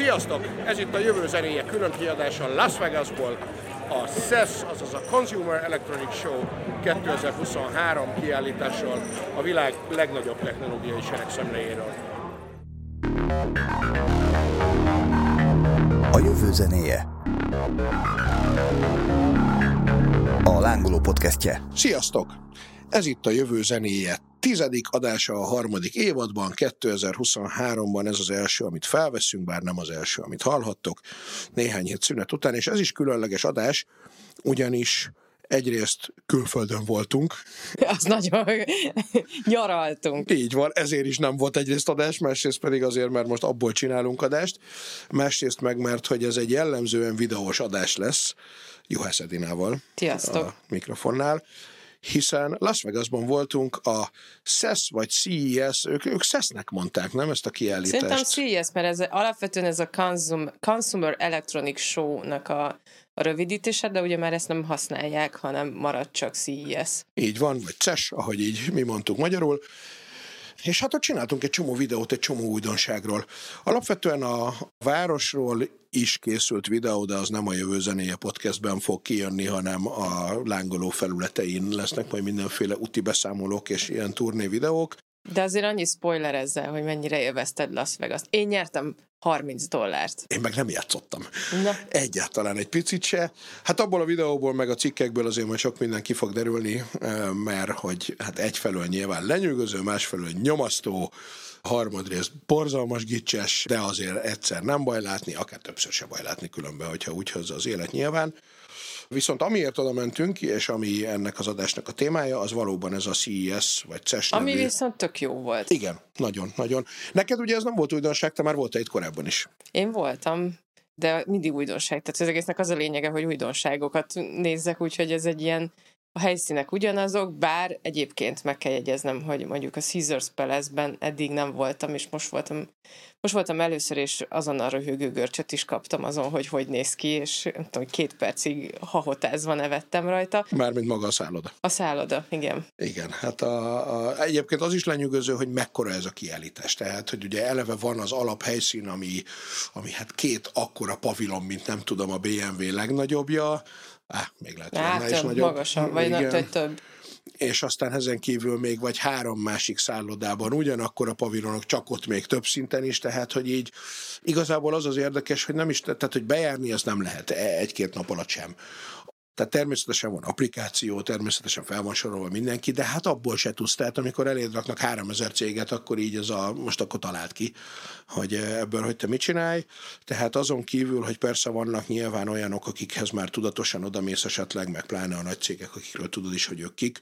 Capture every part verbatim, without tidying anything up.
Sziasztok! Ez itt a Jövő zenéje külön kiadása Las Vegasból, a cé e es, azaz a Consumer Electronics Show kétezer-huszonhárom kiállítással a világ legnagyobb technológiai seregszemléjéről. A Jövő zenéje. A Lángoló podcastje. Sziasztok! Ez itt a Jövő zenéje tizedik adása a harmadik évadban, kétezer-huszonháromban ez az első, amit felveszünk, bár nem az első, amit hallhattok, néhány hét szünet után, és ez is különleges adás, ugyanis egyrészt külföldön voltunk. Az nagyon nyaraltunk. Így van, ezért is nem volt egyrészt adás, másrészt pedig azért, mert most abból csinálunk adást, másrészt meg, mert hogy ez egy jellemzően videós adás lesz, Juhász Edinával. Sziasztok. A mikrofonnál. Hiszen Las Vegasban voltunk a cé e es vagy cé e es, ők, ők cé e es-nek mondták, nem ezt a kiállítást? Szerintem cé e es, mert ez alapvetően ez a Consum, Consumer Electronics Show-nak a, a rövidítése, de ugye már ezt nem használják, hanem marad csak cé e es. Így van, vagy cé e es, ahogy így mi mondtuk magyarul. És hát ott csináltunk egy csomó videót, egy csomó újdonságról. Alapvetően a városról is készült videó, de az nem a Jövő zenéje podcastben fog kijönni, hanem a Lángoló felületein lesznek majd mindenféle úti beszámolók és ilyen turné videók. De azért annyi spoiler ezzel, hogy mennyire élvezted Las Vegas-t. Én nyertem harminc dollárt. Én meg nem játszottam. Na. Egyáltalán egy picit se. Hát abból a videóból, meg a cikkekből azért majd sok minden ki fog derülni, mert hogy hát egyfelől nyilván lenyűgöző, másfelől nyomasztó, harmadrészt borzalmas gicses, de azért egyszer nem baj látni, akár többször se baj látni különben, hogyha úgy hozza az élet nyilván. Viszont amiért oda mentünk, és ami ennek az adásnak a témája, az valóban ez a cé e es, vagy cé e es Ami nevű. viszont tök jó volt. Igen, nagyon, nagyon. Neked ugye ez nem volt újdonság, te már voltál itt korábban is. Én voltam, de mindig újdonság. Tehát az egésznek az a lényege, hogy újdonságokat nézzek, úgyhogy ez egy ilyen, a helyszínek ugyanazok, bár egyébként meg kell jegyeznem, hogy mondjuk a Caesars Palace-ben eddig nem voltam, és most voltam, most voltam először, és azonnal röhögő görcsöt is kaptam azon, hogy hogy néz ki, és nem tudom, két percig hahotázva nevettem rajta. Mármint maga a szálloda. A szálloda, igen. Igen, hát a, a, egyébként az is lenyűgöző, hogy mekkora ez a kiállítás. Tehát, hogy ugye eleve van az alaphelyszín, ami, ami hát két akkora pavilon, mint nem tudom, a bé em vé legnagyobbja. Á, még lehet, hogy hát, is nagyobb. Magasan, vagy nem, több. És aztán ezen kívül még vagy három másik szállodában ugyanakkor a pavilonok, csak ott még több szinten is, tehát hogy így igazából az az érdekes, hogy nem is, tehát hogy bejárni azt nem lehet egy-két nap alatt sem. Tehát természetesen van applikáció, természetesen fel van sorolva mindenki, de hát abból se tudsz. Tehát amikor eléd raknak háromezer céget, akkor így ez a, most akkor talált ki, hogy ebből, hogy te mit csinálj. Tehát azon kívül, hogy persze vannak nyilván olyanok, akikhez már tudatosan odamész esetleg, meg pláne a nagy cégek, akikről tudod is, hogy ők kik.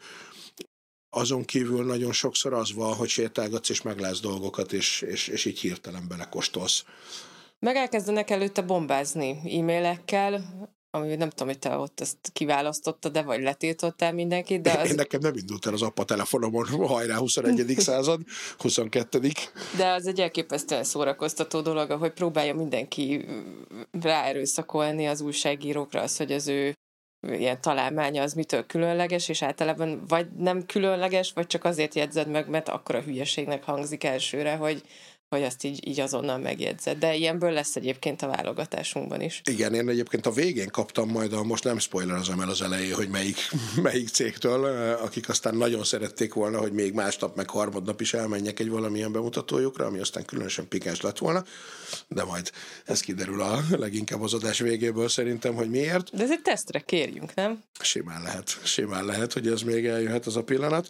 Azon kívül nagyon sokszor az van, hogy sétálgatsz és meglátsz dolgokat, és, és, és így hirtelen belekóstolsz. Meg elkezdenek előtte bombázni e-mailekkel, ami nem tudom, hogy te ott ezt kiválasztottad, de vagy letiltottál mindenkit, de az... Én nekem nem indult el az appa telefonomon, hajrá huszonegyedik század, huszonkettedik De az egy elképesztően szórakoztató dolog, hogy próbálja mindenki ráerőszakolni az újságírókra az, hogy az ő ilyen találmánya az mitől különleges, és általában vagy nem különleges, vagy csak azért jegyzed meg, mert akkora hülyeségnek hangzik elsőre, hogy hogy azt így, így azonnal megjegyzed. De ilyenből lesz egyébként a válogatásunkban is. Igen, én egyébként a végén kaptam majd, a, most nem spoilerezem el az elején, hogy melyik, melyik cégtől, akik aztán nagyon szerették volna, hogy még másnap, meg harmadnap is elmenjek egy valamilyen bemutatójukra, ami aztán különösen pikáns lett volna, de majd ez kiderül a leginkább az adás végéből szerintem, hogy miért. De ez egy tesztre kérjünk, nem? Simán lehet, simán lehet, hogy ez még eljöhet az a pillanat.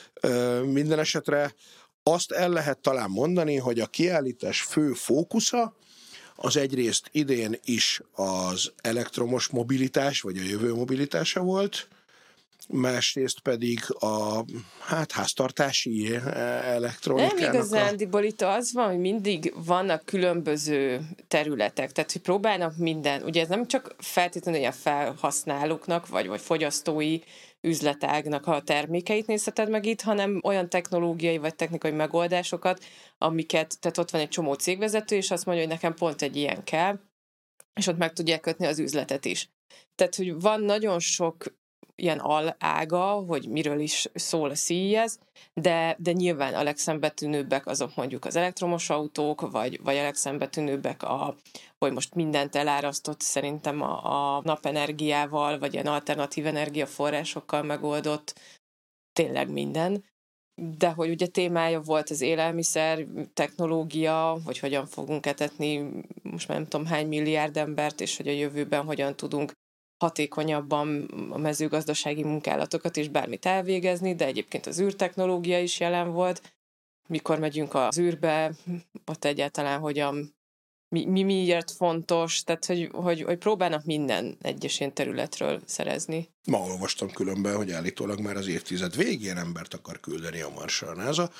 Minden esetre azt el lehet talán mondani, hogy a kiállítás fő fókusza az egyrészt idén is az elektromos mobilitás, vagy a jövő mobilitása volt, másrészt pedig a hát, háztartási elektronikának. Nem igazándiból itt az van, hogy mindig vannak különböző területek, tehát hogy próbálnak minden, ugye ez nem csak feltétlenül a felhasználóknak, vagy, vagy fogyasztói üzletágnak a termékeit nézheted meg itt, hanem olyan technológiai vagy technikai megoldásokat, amiket, tehát ott van egy csomó cégvezető, és azt mondja, hogy nekem pont egy ilyen kell, és ott meg tudják kötni az üzletet is. Tehát, hogy van nagyon sok ilyen alága, hogy miről is szól a cé e es, de, de nyilván a legszembetűnőbbek azok mondjuk az elektromos autók, vagy, vagy a legszembetűnőbbek, a, hogy most mindent elárasztott szerintem a, a napenergiával, vagy ilyen alternatív energiaforrásokkal megoldott, tényleg minden. De hogy ugye témája volt az élelmiszer, technológia, hogy hogyan fogunk etetni most már nem tudom hány milliárd embert, és hogy a jövőben hogyan tudunk hatékonyabban a mezőgazdasági munkálatokat is bármit elvégezni, de egyébként az űrtechnológia is jelen volt. Mikor megyünk az űrbe, ott egyáltalán hogyan, mi, mi miért fontos, tehát hogy, hogy, hogy próbálnak minden egyes ilyen területről szerezni. Ma olvastam különben, hogy állítólag már az évtized végén embert akar küldeni a Marsra a NASA,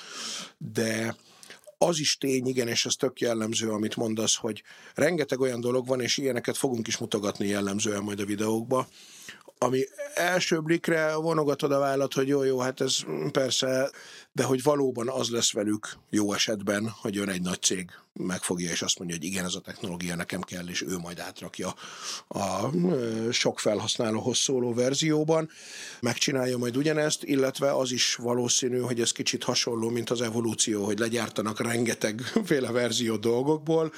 de az is tény, igen, és ez tök jellemző, amit mondasz, hogy rengeteg olyan dolog van, és ilyeneket fogunk is mutogatni jellemzően majd a videókba, ami első blikre vonogatod a vállat, hogy jó, jó, hát ez persze, de hogy valóban az lesz velük jó esetben, hogy jön egy nagy cég, megfogja, és azt mondja, hogy igen, ez a technológia nekem kell, és ő majd átrakja a sok felhasználóhoz szóló verzióban, megcsinálja majd ugyanezt, illetve az is valószínű, hogy ez kicsit hasonló, mint az evolúció, hogy legyártanak rengetegféle verzió dolgokból,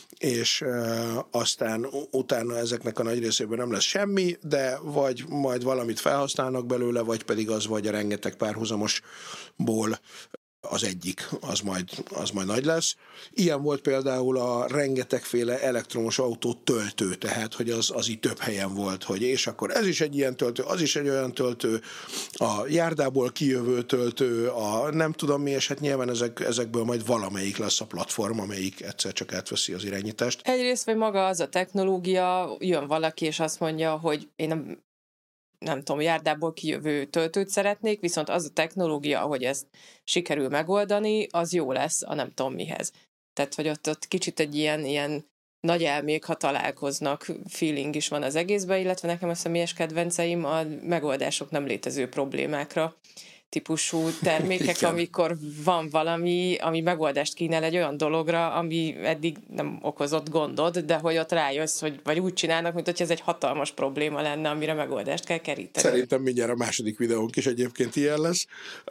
és e, aztán utána ezeknek a nagy részében nem lesz semmi, de vagy majd valamit felhasználnak belőle, vagy pedig az vagy a rengeteg párhuzamosból az egyik, az majd, az majd nagy lesz. Ilyen volt például a rengetegféle elektromos autó töltő, tehát hogy az, az így több helyen volt, hogy és akkor ez is egy ilyen töltő, az is egy olyan töltő, a járdából kijövő töltő, a nem tudom mi, és hát nyilván ezek, ezekből majd valamelyik lesz a platform, amelyik egyszer csak átveszi az irányítást. Egyrészt, vagy maga az a technológia, jön valaki, és azt mondja, hogy én nem nem tudom, járdából kijövő töltőt szeretnék, viszont az a technológia, ahogy ezt sikerül megoldani, az jó lesz a nem tudom mihez. Tehát, hogy ott, ott kicsit egy ilyen, ilyen nagy elmék, ha találkoznak, feeling is van az egészben, illetve nekem a személyes kedvenceim a megoldások nem létező problémákra típusú termékek, Igen. amikor van valami, ami megoldást kínál egy olyan dologra, ami eddig nem okozott gondod, de hogy ott rájössz, hogy vagy úgy csinálnak, mint hogy ez egy hatalmas probléma lenne, amire megoldást kell keríteni. Szerintem mindjárt a második videónk is egyébként ilyen lesz.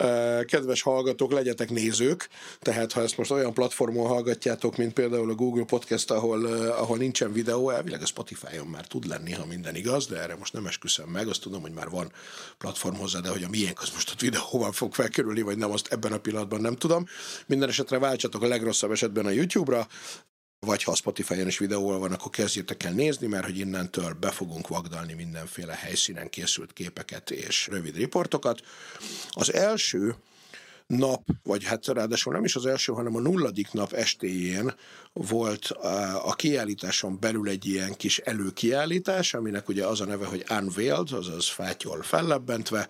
Kedves hallgatók, legyetek nézők, tehát ha ezt most olyan platformon hallgatjátok, mint például a Google Podcast, ahol, ahol nincsen videó, elvileg a Spotify-on már tud lenni, ha minden igaz, de erre most nem esküszöm meg, azt tudom, hogy már van platform hozzá, de hogy a miénk az most ott videó hova fog felkerülni, vagy nem, azt ebben a pillanatban nem tudom. Minden esetre váltsatok a legrosszabb esetben a YouTube-ra, vagy ha a Spotify-on is videóval van, akkor kezdjétek el nézni, mert hogy innentől be fogunk vagdalni mindenféle helyszínen készült képeket és rövid riportokat. Az első nap, vagy hát ráadásul nem is az első, hanem a nulladik nap estéjén volt a kiállításon belül egy ilyen kis előkiállítás, aminek ugye az a neve, hogy Unveiled, azaz fátyol fellebbentve,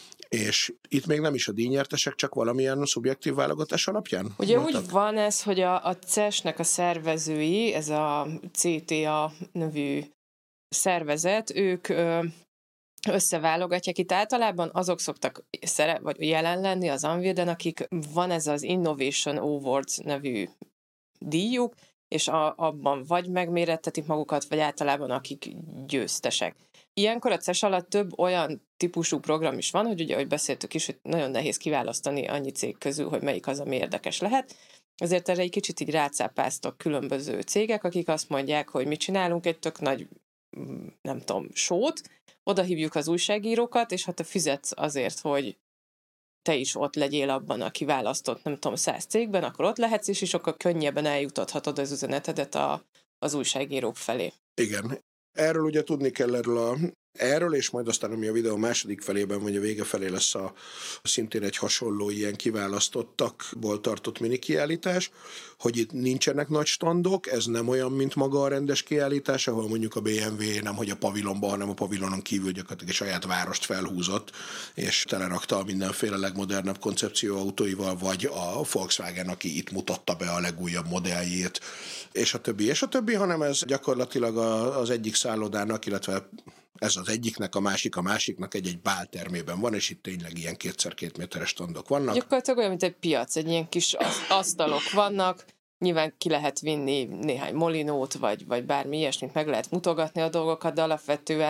és itt még nem is a díjnyertesek, csak valamilyen szubjektív válogatás alapján? Ugye voltak? úgy van ez, hogy a, a cé e es-nek a szervezői, ez a cé té á nevű szervezet, ők ö, összeválogatják. Itt általában azok szoktak szere, vagy jelen lenni az Unveiled-en, akik van ez az Innovation Awards nevű díjuk, és a, abban vagy megmérettetik magukat, vagy általában akik győztesek. Ilyenkor a cé e es alatt több olyan típusú program is van, hogy ugye, ahogy beszéltük is, hogy nagyon nehéz kiválasztani annyi cég közül, hogy melyik az, ami érdekes lehet. Ezért erre egy kicsit így rácápáztak különböző cégek, akik azt mondják, hogy mi csinálunk egy tök nagy, nem tudom, sót, oda hívjuk az újságírókat, és ha te fizetsz azért, hogy te is ott legyél abban a kiválasztott, nem tudom, száz cégben, akkor ott lehetsz, és is sokkal könnyebben eljutathatod az üzenetedet a, az újságírók felé. Igen. Erről ugye tudni kell erről a Erről, és majd aztán, ami a videó második felében, vagy a vége felé lesz a szintén egy hasonló ilyen kiválasztottakból tartott mini kiállítás, hogy itt nincsenek nagy standok, ez nem olyan, mint maga a rendes kiállítás, ahol mondjuk a bé em vé nem hogy a pavilonban, hanem a pavilonon kívül gyakorlatilag egy saját várost felhúzott, és telerakta a mindenféle legmodernebb koncepció autóival, vagy a Volkswagen, aki itt mutatta be a legújabb modelljét, és a többi, és a többi, hanem ez gyakorlatilag az egyik szállodának, illetve ez az egyiknek, a másik a másiknak egy-egy báltermében van, és itt tényleg ilyen kétszer két méteres standok vannak. Gyakorlatilag olyan, mint egy piac, egy ilyen kis asztalok vannak, nyilván ki lehet vinni néhány molinót, vagy, vagy bármi ilyesmit, meg lehet mutogatni a dolgokat, de alapvetően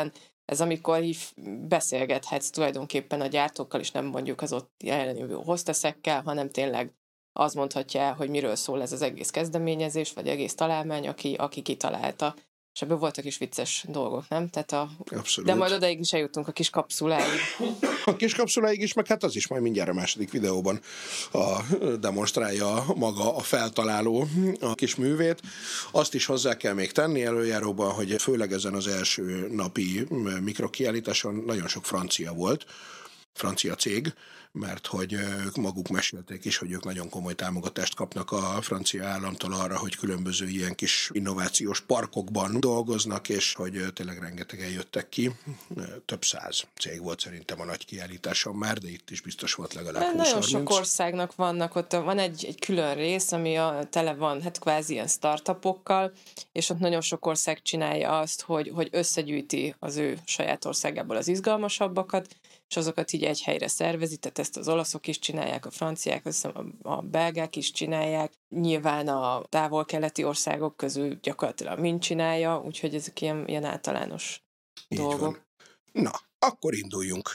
ez amikor így beszélgethetsz tulajdonképpen a gyártókkal, és nem mondjuk az ott jelenlévő hosteszekkel, hanem tényleg az mondhatja el, hogy miről szól ez az egész kezdeményezés, vagy egész találmány, aki, aki kitalálta. És ebből voltak is vicces dolgok, nem? Tehát a... De majd odaig is eljutunk a kis kapszuláig. A kis kapszuláig is, meg hát az is majd mindjárt a második videóban a, demonstrálja maga a feltaláló a kis művét. Azt is hozzá kell még tenni előjáróban, hogy főleg ezen az első napi mikrokiállításon nagyon sok francia volt, francia cég, mert hogy ők maguk mesélték is, hogy ők nagyon komoly támogatást kapnak a francia államtól arra, hogy különböző ilyen kis innovációs parkokban dolgoznak, és hogy tényleg rengetegen jöttek ki. Több száz cég volt szerintem a nagy kiállításon már, de itt is biztos volt legalább húsz harminc. Nagyon sok országnak vannak ott, van egy, egy külön rész, ami a, tele van, hát kvázi ilyen startupokkal, és ott nagyon sok ország csinálja azt, hogy, hogy összegyűjti az ő saját országából az izgalmasabbakat, és azokat így egy helyre szervezi, tehát ezt az olaszok is csinálják, a franciák, a belgák is csinálják, nyilván a távol-keleti országok közül gyakorlatilag mind csinálja, úgyhogy ezek ilyen, ilyen általános így dolgok. Van. Na, akkor induljunk.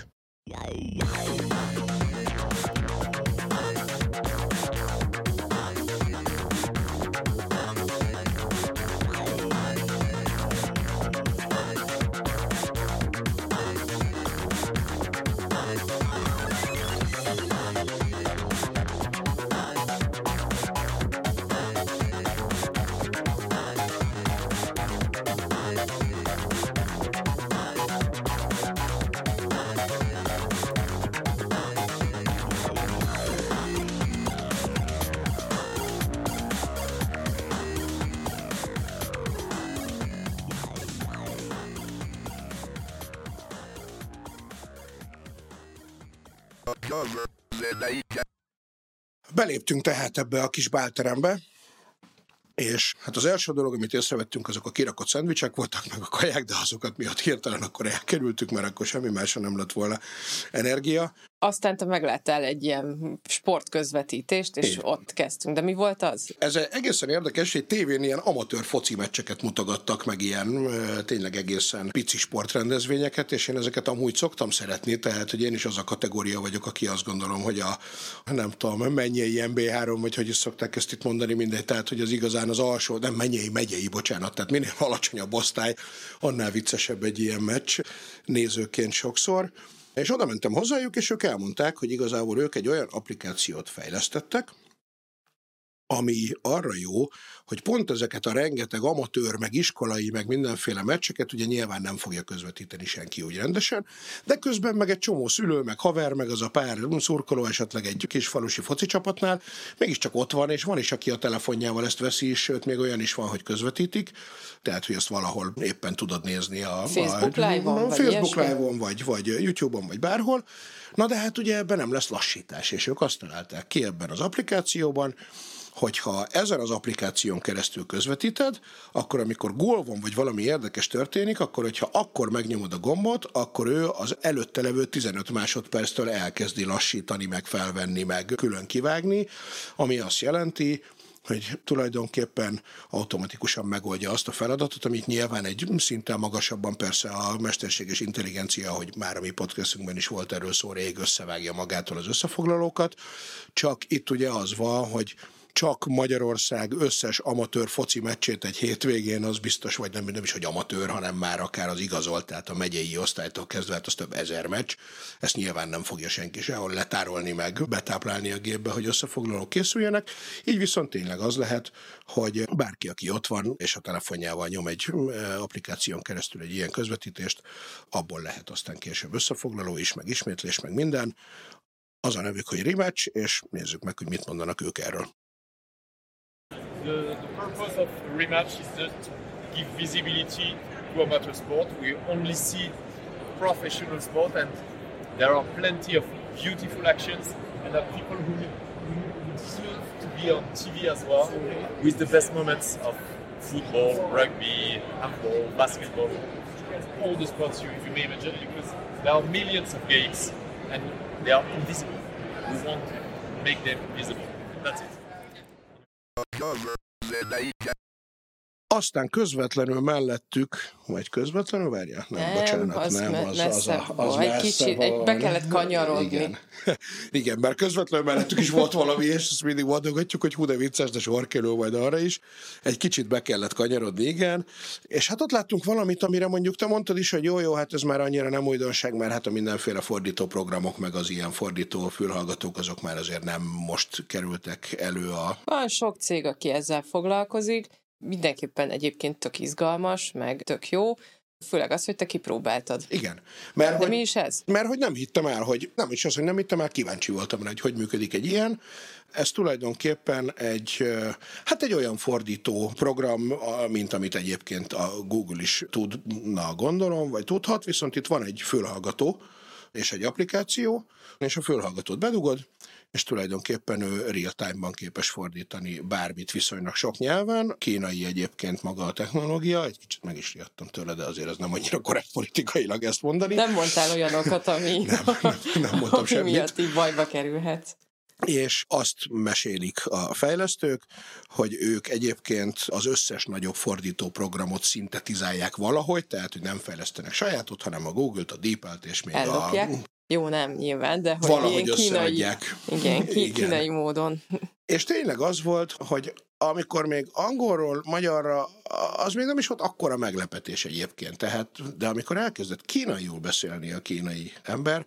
Beléptünk tehát ebbe a kis bálterembe, és hát az első dolog, amit észrevettünk, azok a kirakott szendvicsek voltak, meg a kaják, de azokat miatt hirtelen akkor elkerültük, mert akkor semmi másra nem lett volna energia. Aztán te megláttál egy ilyen sportközvetítést, és igen, ott kezdtünk. De mi volt az? Ez egészen érdekes, hogy tévén ilyen amatőr foci meccseket mutogattak, meg ilyen tényleg egészen pici sportrendezvényeket, és én ezeket amúgy szoktam szeretni, tehát hogy én is az a kategória vagyok, aki azt gondolom, hogy a nem tudom, mennyei em bé három, vagy hogy is szokták ezt itt mondani, mindegy, tehát hogy az igazán az alsó, nem mennyei, megyei, bocsánat, tehát minél alacsonyabb osztály, annál viccesebb egy ilyen meccs nézőként sokszor. És oda mentem hozzájuk, és ők elmondták, hogy igazából ők egy olyan applikációt fejlesztettek, ami arra jó, hogy pont ezeket a rengeteg amatőr, meg iskolai, meg mindenféle meccseket ugye nyilván nem fogja közvetíteni senki úgy rendesen, de közben meg egy csomó szülő, meg haver, meg az a pár szurkoló esetleg egy kis falusi foci csapatnál, mégiscsak ott van, és van is, aki a telefonjával ezt veszi is, sőt, még olyan is van, hogy közvetítik, tehát, hogy ezt valahol éppen tudod nézni a Facebook Live-on, vagy, Facebook Live-on, vagy, vagy YouTube-on, vagy bárhol. Na de hát ugye ebben nem lesz lassítás, és ők azt találták ki ebben az applikációban, hogyha ezen az applikáción keresztül közvetíted, akkor amikor gól van, vagy valami érdekes történik, akkor hogyha akkor megnyomod a gombot, akkor ő az előtte levő tizenöt másodperctől elkezdi lassítani, meg felvenni, meg külön kivágni, ami azt jelenti, hogy tulajdonképpen automatikusan megoldja azt a feladatot, amit nyilván egy szinten magasabban persze a mesterséges intelligencia, ahogy már a mi podcastunkban is volt erről szó, rég összevágja magától az összefoglalókat, csak itt ugye az van, hogy csak Magyarország összes amatőr foci meccsét egy hétvégén, az biztos, vagy nem, nem is, hogy amatőr, hanem már akár az igazolt, tehát a megyei osztálytól kezdve, hát az több ezer meccs. Ezt nyilván nem fogja senki sehol letárolni meg, betáplálni a gépbe, hogy összefoglalók készüljenek. Így viszont tényleg az lehet, hogy bárki, aki ott van, és a telefonjával nyom egy applikáción keresztül egy ilyen közvetítést, abból lehet aztán később összefoglaló is, meg ismétlés, meg minden. Az a nevük, hogy Rematch, és nézzük meg, hogy mit mondanak ők erről. The, the purpose of Rematch is just to give visibility to amateur sport. We only see professional sport, and there are plenty of beautiful actions, and there are people who, who deserve to be on T V as well, with the best moments of football, rugby, handball, basketball, all the sports you, you may imagine, because there are millions of games, and they are invisible. We want to make them visible. That's it. Aztán közvetlenül mellettük, vagy közvetlenül, várjál? Nem, Nem, bocsánat, az nem, me- az, messze az, a, az egy messze kicsit, van. egy, be kellett kanyarodni. Igen. Igen, mert közvetlenül mellettük is volt valami, és ezt mindig mondogatjuk, hogy hú, de vicces, de sor kerül majd arra is. Egy kicsit be kellett kanyarodni, igen. És hát ott láttunk valamit, amire mondjuk te mondtad is, hogy jó, jó, hát ez már annyira nem újdonság, mert hát a mindenféle fordító programok, meg az ilyen fordító fülhallgatók, azok már azért nem most kerültek elő a... Van sok cég, aki ezzel foglalkozik, mindenképpen egyébként tök izgalmas, meg tök jó, főleg az, hogy te kipróbáltad. Igen. Mert De hogy, mi is ez? Mert hogy nem hittem el, hogy nem is az, hogy nem hittem el, kíváncsi voltam rá, hogy hogy működik egy ilyen. Ez tulajdonképpen egy, hát egy olyan fordító program, mint amit egyébként a Google is tudna, gondolom, vagy tudhat, viszont itt van egy fülhallgató és egy applikáció, és a fülhallgatót bedugod, és tulajdonképpen ő real-time-ban képes fordítani bármit viszonylag sok nyelven. Kínai egyébként maga a technológia, egy kicsit meg is riadtam tőle, de azért ez nem annyira korrekt politikailag ezt mondani. Nem mondtál olyanokat, ami, nem, nem, nem mondtam ami semmit. miatt így bajba kerülhetsz. És azt mesélik a fejlesztők, hogy ők egyébként az összes nagyobb fordító programot szintetizálják valahogy, tehát hogy nem fejlesztenek sajátot, hanem a Google-t, a DeepL-t és még Ellopják. a... Jó, nem, nyilván, de hogy valahogy ilyen kínai, összeadják. igen, ki, Igen. kínai módon. És tényleg az volt, hogy amikor még angolról magyarra, az még nem is volt akkora meglepetés egyébként, tehát, de amikor elkezdett kínaiul beszélni a kínai ember,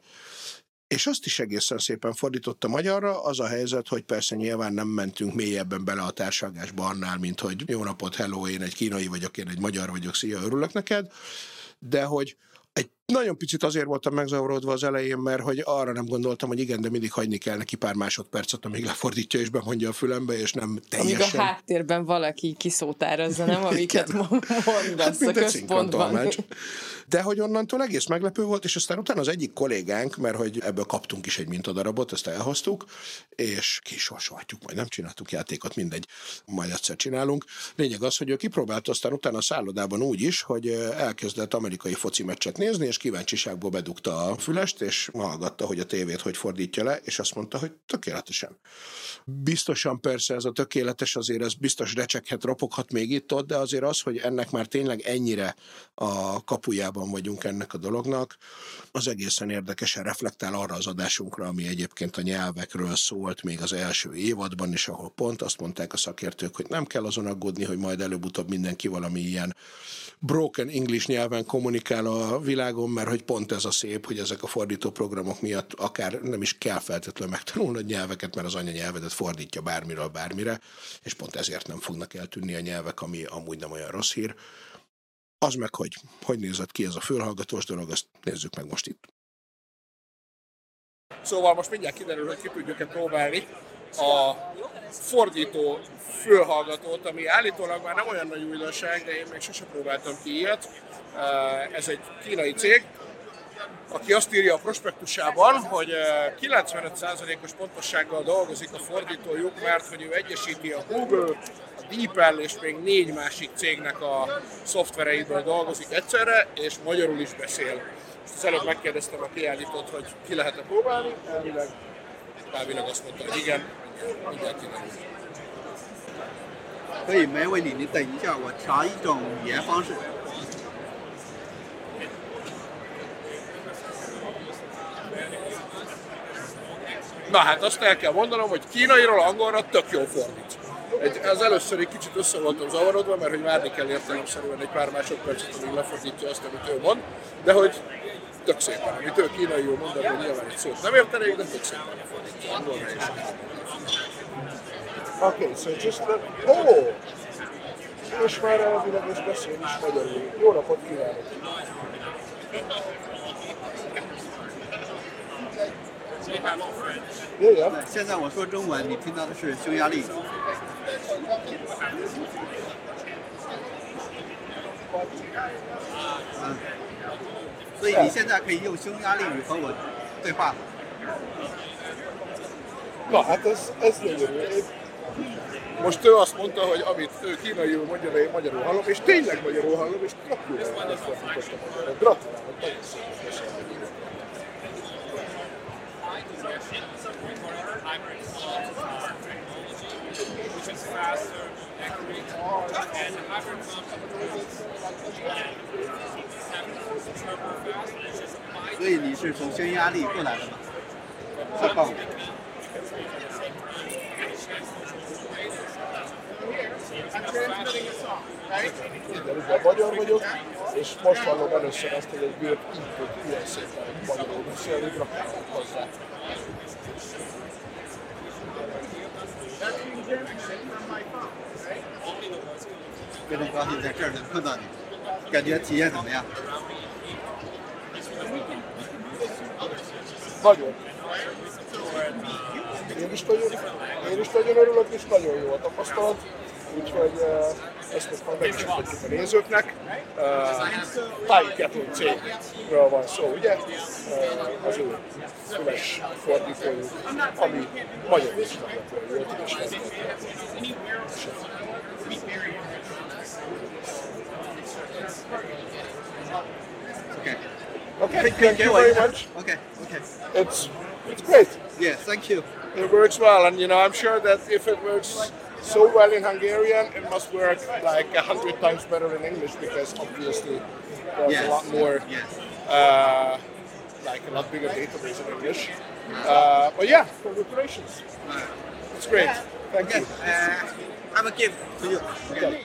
és azt is egészen szépen fordította magyarra, az a helyzet, hogy persze nyilván nem mentünk mélyebben bele a társalgásba annál, mint hogy jó napot, hello, én egy kínai vagyok, én egy magyar vagyok, szia, örülök neked, de hogy egy nagyon picit azért voltam megzavarodva az elején, mert hogy arra nem gondoltam, hogy igen, de mindig hagyni kell neki pár másodpercet, amíg lefordítja és bemondja a fülembe, és nem teljesen... Amíg a háttérben valaki kiszótározza, nem? Amiket mondasz hát, a központban. De hogy onnantól egész meglepő volt, és aztán utána az egyik kollégánk, mert hogy ebből kaptunk is egy mintadarabot, ezt elhoztuk, és kisorsolhatjuk, majd nem csináltuk játékot, mindegy, majd egyszer csinálunk. Lényeg az, hogy ő kipróbálta aztán utána a szállodában úgy is, hogy elkezdett amerikai foci meccset nézni, és kíváncsiságból bedugta a fülest, és hallgatta, hogy a tévét hogy fordítja le, és azt mondta, hogy tökéletesen. Biztosan persze ez a tökéletes, azért ez biztos recseghet, ropoghat még itt-ott, de azért az, hogy ennek már tényleg ennyire a kapujában vagyunk ennek a dolognak, az egészen érdekesen reflektál arra az adásunkra, ami egyébként a nyelvekről szólt még az első évadban is, ahol pont azt mondták a szakértők, hogy nem kell azon aggódni, hogy majd előbb-utóbb mindenki valami ilyen broken English nyelven kommunikál a világon, mert hogy pont ez a szép, hogy ezek a fordító programok miatt akár nem is kell feltétlenül megtanulni a nyelveket, mert az anyanyelvedet fordítja bármiről bármire, és pont ezért nem fognak eltűnni a nyelvek, ami amúgy nem olyan rossz hír. Az meg, hogy hogy nézett ki ez a fülhallgatós dolog, azt nézzük meg most itt. Szóval most mindjárt kiderül, hogy ki tudjuk-e próbálni a fordító fülhallgatót, ami állítólag már nem olyan nagy újdonság, de én még sose próbáltam ki ilyet. Ez egy kínai cég, aki azt írja a prospektusában, hogy kilencvenöt százalékos pontossággal dolgozik a fordítójuk, mert hogy ő egyesíti a Google, a DeepL és még négy másik cégnek a szoftvereiből dolgozik egyszerre, és magyarul is beszél. Az előbb megkérdeztem a kiállítót, hogy ki lehet-e próbálni, elvileg, elvileg azt mondta, hogy igen, mindjárt kiderül. 可以，没问题。你等一下，我调一种语言方式。 Na hát azt el kell mondanom, hogy kínairól angolra tök jól fordít. Egy, az először egy kicsit össze voltam zavarodva, mert hogy várni kell értelemszerűen egy pár másodpercet, amíg lefordítja azt, amit ő mond, de hogy tök szépen, amit ő kínaiul mond, hogy nyilván egy szót nem értenék, de tök szépen lefordítja angolra is. Okay, so just the... Oh! És már elvileg és beszél is magyarul. Jó napot kívánok! Jöjjön! 现在我说中文，你听到的是匈牙利。嗯，所以你现在可以用匈牙利语和我对话。 Na hát ez, ez gyönyörű. Most ő azt mondta, hogy amit ő kínaiul mondja, de én magyarul hallom, és tényleg magyarul hallom, és tök jól lefordítottam magyarul. Gratulálok, nagyon szépen köszönöm. which is faster, accurate, and the hybrid comes turbo fast, and it's just 所以你是从匈牙利过来的吗？是棒。 Ugye magyar vagyok, és most hallom először azt, hogy egy gép így tud ilyen szépen magyarul beszélni, gratulálok hozzá. Nagyon 高兴在这儿能碰到你，感觉体验怎么样？ Nagyon. Én is nagyon, én is nagyon örülök, és nagyon jó a tapasztalat, úgyhogy uh, ezt most majd megmutatjuk a nézőknek. Uh, Thai Kettle cégről van szó, ugye? Uh, az ő füles fordítójuk, ami magyar is nagyon jó tud is lenni. Okay. Okay, thank you very much. Okay. Okay. It's it's great. Yes, thank you. It works well, and you know, I'm sure that if it works so well in Hungarian, it must work like a hundred times better in English, because obviously there's Yes. a lot more, Yes. uh, like a lot bigger database in English. Uh, but yeah, congratulations. It's great. Thank Okay. you. Uh, I'm a gift to you. Okay.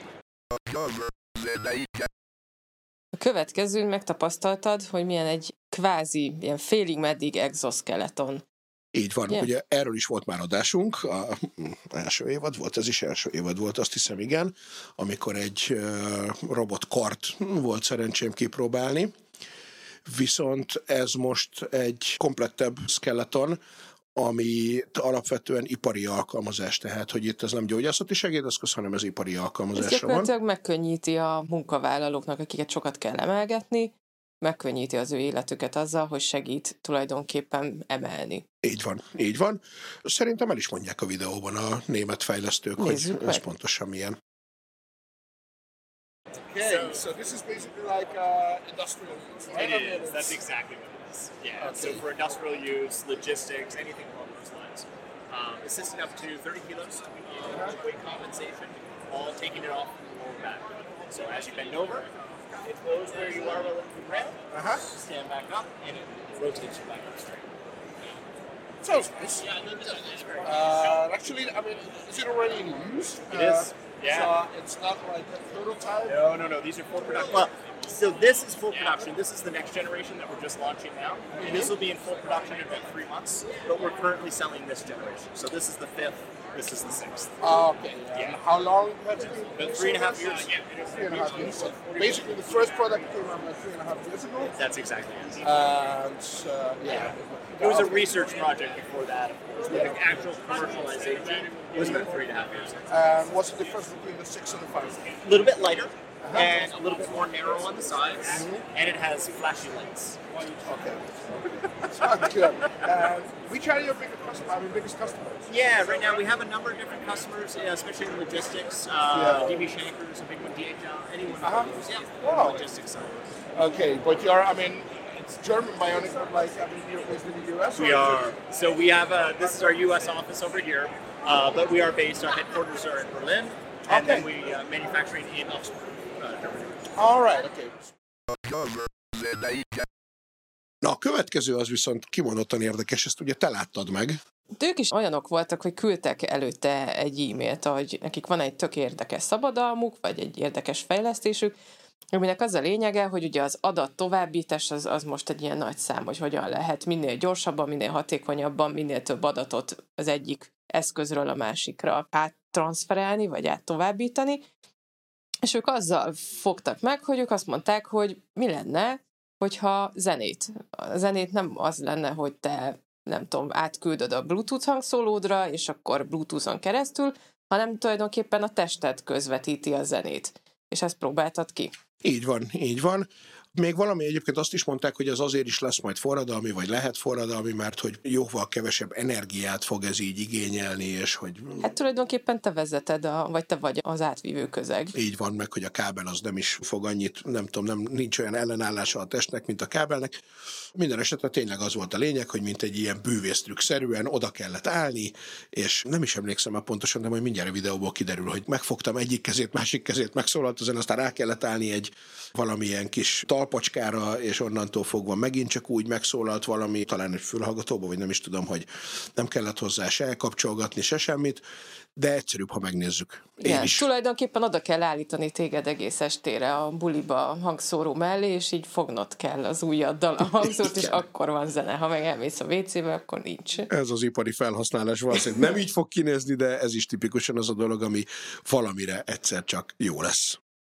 A következőn megtapasztaltad, hogy milyen egy kvázi, ilyen félig meddig exoskeleton. Így van, Yeah. ugye erről is volt már adásunk, a első évad volt, ez is első évad volt, azt hiszem, igen, amikor egy uh, robotkart volt szerencsém kipróbálni, viszont ez most egy komplettebb skeleton, ami alapvetően ipari alkalmazás, tehát, hogy itt ez nem gyógyászati segédeszköz, hanem ez ipari Ez alkalmazásra van. gyakorlatilag megkönnyíti a munkavállalóknak, akiket sokat kell emelgetni, megkönnyíti az ő életüket azzal, hogy segít tulajdonképpen emelni. Így van, így van. Szerintem el is mondják a videóban a német fejlesztők, Nézzük hogy meg. ez pontosan milyen. Okay, so this is basically like uh, industrial use, right? I It mean, is. it's- That's exactly what it is. Yeah. Okay. So for industrial use, logistics, anything along those lines. Um, assisting up to thirty kilos of weight compensation, all taking it off from the lower back. So as you bend over, it goes where you are relatively round. Uh-huh. Stand back up, and it rotates you back up straight. Sounds nice. Uh, actually, I mean, is it already in use? It is, yeah. So it's not like a prototype. No, no, no. These are full production. Well, so this is full production. This is the next generation that we're just launching now. And this will be in full production in about three months. But we're currently selling this generation. So this is the fifth. This is the sixth. Ah, okay. Yeah. And how long has it been? About three and a half years. Three and a half years. So basically, the first product came out like three and a half years ago. That's exactly it. And uh, yeah. It was a research project before that, of course. But the actual commercialization was about three and a half years. And what's the difference between the six and the five? A little bit lighter and a little bit more narrow on the sides, and it has flashy lights. Okay. Sounds good. And which are your biggest customers? I mean, biggest customers? Yeah, right now we have a number of different customers, yeah, especially in logistics. Uh, Yeah. D B Shankers, a big one, D H L, anyone Uh-huh. who knows, yeah, Wow. logistics side. Okay, but you're, I mean, it's German Bionic, but like, I mean, you're based in the U S? or We is are, it- so we have a, this is our U S office over here, uh, but we are based, our headquarters are in Berlin, and then Okay. we uh, manufacturing in Augsburg, uh, Germany. All right, okay. Na, a következő az viszont kimondottan érdekes, ezt ugye te láttad meg. De ők is olyanok voltak, hogy küldtek előtte egy e-mailt, hogy nekik van egy tök érdekes szabadalmuk, vagy egy érdekes fejlesztésük, aminek az a lényege, hogy ugye az adat továbbítás az, az most egy ilyen nagy szám, hogy hogyan lehet minél gyorsabban, minél hatékonyabban, minél több adatot az egyik eszközről a másikra áttranszferálni, vagy áttovábbítani. És ők azzal fogtak meg, hogy ők azt mondták, hogy mi lenne, hogyha zenét. A zenét nem az lenne, hogy te, nem tudom, átküldöd a Bluetooth hangszólódra, és akkor Bluetooth-on keresztül, hanem tulajdonképpen a tested közvetíti a zenét. És ezt próbáltad ki. Így van, így van. Még valami egyébként azt is mondták, hogy az azért is lesz majd forradalmi, vagy lehet forradalmi, mert hogy jóval kevesebb energiát fog ez így igényelni, és hogy... Hát tulajdonképpen te vezeted, a, vagy te vagy az átvívő közeg. Így van, meg, hogy a kábel az nem is fog annyit, nem tudom, nem, nincs olyan ellenállása a testnek, mint a kábelnek. Minden esetre tényleg az volt a lényeg, hogy mint egy ilyen bűvésztrükk-szerűen oda kellett állni, és nem is emlékszem már pontosan, de majd mindjárt a videóból kiderül, hogy megfogtam egyik kezét, másik kezét, megszólalt ezen, aztán rá kellett állni egy valamilyen kis talpacskára, és onnantól fogva megint csak úgy megszólalt valami, talán egy fülhallgatóba, vagy nem is tudom, hogy nem kellett hozzá se elkapcsolgatni, se semmit, de egyszerűbb, ha megnézzük. Én Igen, is. tulajdonképpen oda kell állítani téged egész estére a buliba a hangszóró mellé, és így fognod kell az ujjaddal a hangszórt, és akkor van zene. Ha meg elmész a vécébe, akkor nincs. Ez az ipari felhasználás valószínűleg nem így fog kinézni, de ez is tipikusan az a dolog, ami valamire egyszer csak jó lesz.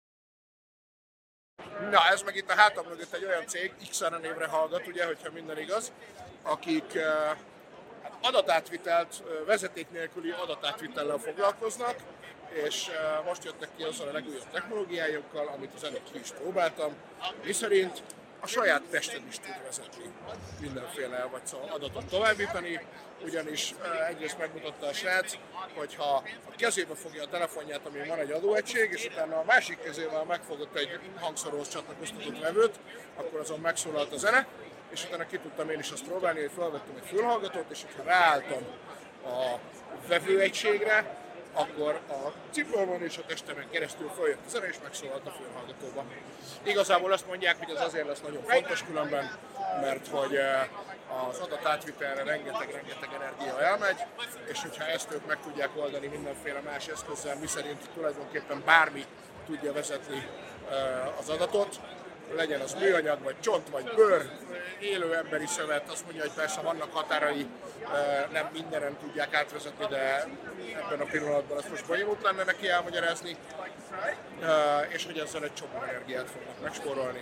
Na, ez meg itt a hátam mögött egy olyan cég, X er névre hallgat, ugye, hogyha minden igaz, akik uh, adatátvitelt, uh, vezeték nélküli adatátvitellel foglalkoznak, és uh, most jöttek ki azzal a legújabb technológiájukkal, amit az előtt ki is próbáltam, miszerint a saját tested is tud vezetni mindenféle vagy szóval adatot továbbítani, ugyanis uh, egyrészt megmutatta a srác, hogyha a kezébe fogja a telefonját, ami van egy adóegység, és utána a másik kezével megfogott egy hangszóróhoz csatlakoztatott vevőt, akkor azon megszólalt a zene, és utána ki tudtam én is azt próbálni, hogy felvettem egy fülhallgatót, és hogyha ráálltam a vevőegységre, akkor a cipőmön és a testemen keresztül följött a zene, és megszólalt a fülhallgatóba. Igazából azt mondják, hogy ez azért lesz nagyon fontos különben, mert hogy az adatátvitelre rengeteg-rengeteg energia elmegy, és hogyha ezt ők meg tudják oldani mindenféle más eszközzel, miszerint tulajdonképpen bármi tudja vezetni az adatot, legyen az műanyag, vagy csont, vagy bőr, élő emberi szövet, azt mondja, hogy persze vannak határai, nem mindenen tudják átvezetni, de ebben a pillanatban ezt most bonyolult lenne neki elmagyarázni, és hogy ezzel egy csomó energiát fognak megspórolni.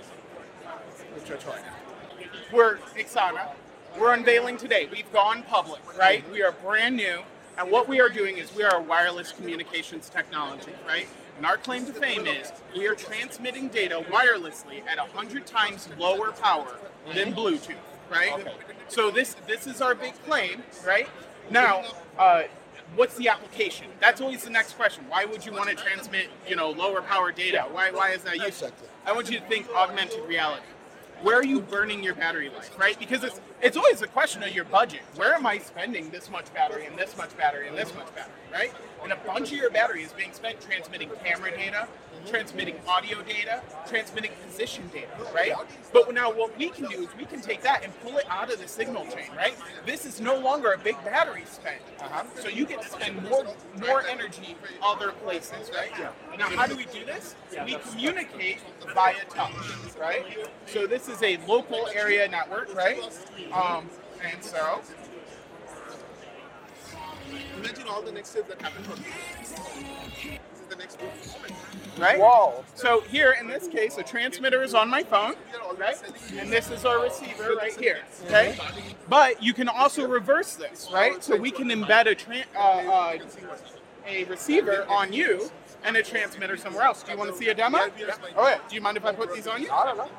Úgyhogy hajrá! We're Ixana. We're unveiling today. We've gone public, right? We are brand new, and what we are doing is we are a wireless communications technology, right? And our claim to fame is we are transmitting data wirelessly at one hundred times lower power than Bluetooth, right? Okay. So this this is our big claim, right? Now, uh, what's the application? That's always the next question. Why would you want to transmit, you know, lower power data? Why why is that useful? I want you to think augmented reality. Where are you burning your battery life, right? Because it's it's always a question of your budget. Where am I spending this much battery and this much battery and this much battery, right? And a bunch of your battery is being spent transmitting camera data, transmitting audio data, transmitting position data, right? But now what we can do is we can take that and pull it out of the signal chain, right? This is no longer a big battery spend. Uh-huh. So you get to spend more more energy other places, right? Yeah. Now how do we do this? We communicate via touch, right? So this is a local area network, right? Um, and so imagine all the next steps that happen from here. This is the next move. Right? Whoa. So here, in this case, a transmitter is on my phone, right? And this is our receiver right here, okay? But you can also reverse this, right? So we can embed a tra- uh, uh, a receiver on you and a transmitter somewhere else. Do you want to see a demo? Yeah. All right. Do you mind if I put these on you? I don't know.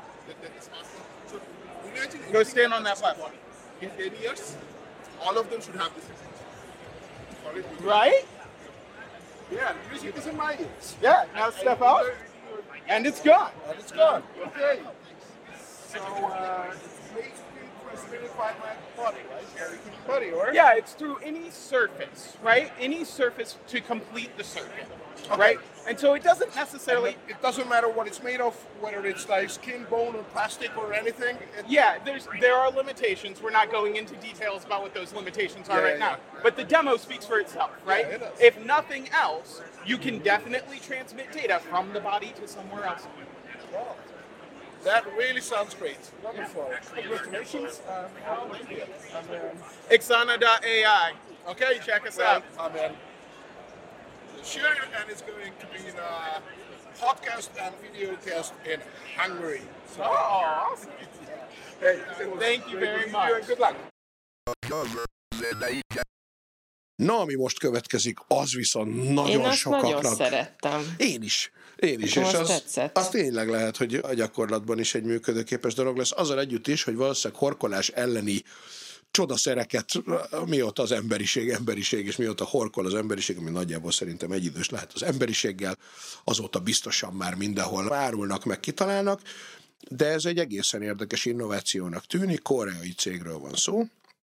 Go stand on that platform. In ten years, all of them should have this. Right? Yeah, music is in my ears. Yeah, now step out. And it's gone. And it's gone. Okay. So, uh, it's basically transmitted by my body, right? Yeah, body, or? Yeah, it's through any surface, right? Any surface to complete the circuit, okay. Right? And so it doesn't necessarily... It doesn't matter what it's made of, whether it's like skin, bone, or plastic, or anything? It, yeah, there's there are limitations. We're not going into details about what those limitations are yeah, right yeah. now. But the demo speaks for itself, right? Yeah, it if nothing else, you can definitely transmit data from the body to somewhere else. Wow. That really sounds great. Wonderful. Congratulations. Um, Ixana dot A I. Okay, check us well, out. Amen. Sure, and it's going to be in a podcast and video cast in Hungary. So, oh, awesome. Hey, thank you very much. Good luck. Na, ami most következik, az viszont nagyon Én azt sokaknak... nagyon szerettem. Én is. Én is, Nekem és az az, tetszett. az tényleg lehet, hogy a gyakorlatban is egy működőképes dolog lesz. Azzal együtt is, hogy valószínűleg horkolás elleni csodaszereket, mióta az emberiség, emberiség, és mióta horkol az emberiség, ami nagyjából szerintem egyidős lehet az emberiséggel, azóta biztosan már mindenhol árulnak, meg kitalálnak, de ez egy egészen érdekes innovációnak tűnik, koreai cégről van szó,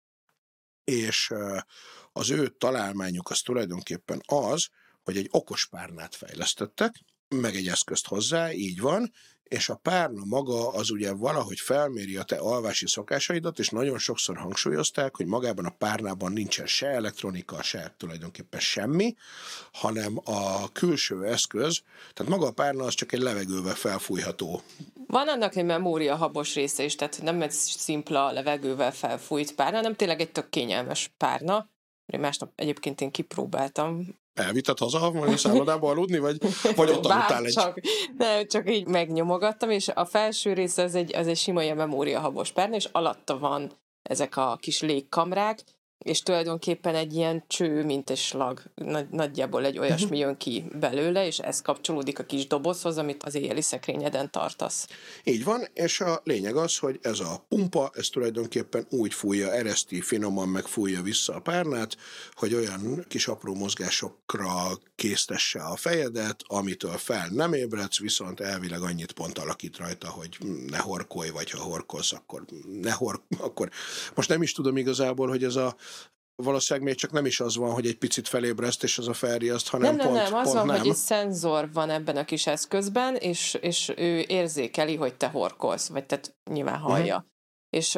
és az ő találmányuk az tulajdonképpen az, hogy egy okos párnát fejlesztettek, meg egy eszközt hozzá, így van, és a párna maga az ugye valahogy felméri a te alvási szokásaidat, és nagyon sokszor hangsúlyozták, hogy magában a párnában nincsen se elektronika, se tulajdonképpen semmi, hanem a külső eszköz, tehát maga a párna az csak egy levegővel felfújható. Van annak egy memóriahabos része is, tehát nem egy szimpla levegővel felfújt párna, hanem tényleg egy tök kényelmes párna. Másnap egyébként én kipróbáltam. Elvitted haza, vagy szállodába aludni, vagy, vagy ott aludtál egy... Csak, nem, csak így megnyomogattam, és a felső része az egy, az egy sima ilyen memóriahabos párna, és alatta van ezek a kis légkamrák, és tulajdonképpen egy ilyen cső, mint egy slag. Nagy, nagyjából egy olyasmi jön ki belőle, és ez kapcsolódik a kis dobozhoz, amit az éjjeli szekrényeden tartasz. Így van, és a lényeg az, hogy ez a pumpa, ez tulajdonképpen úgy fújja, ereszti, finoman megfújja vissza a párnát, hogy olyan kis apró mozgásokra késztesse a fejedet, amitől fel nem ébredsz, viszont elvileg annyit pont alakít rajta, hogy ne horkolj, vagy ha horkolsz, akkor ne hork, akkor most nem is tudom igazából, hogy ez a valószínűleg még csak nem is az van, hogy egy picit felébreszt, és az a felriaszt, hanem nem, pont, nem, nem, az pont van, nem. hogy egy szenzor van ebben a kis eszközben, és, és ő érzékeli, hogy te horkolsz, vagy tehát nyilván hallja. Uh-huh. És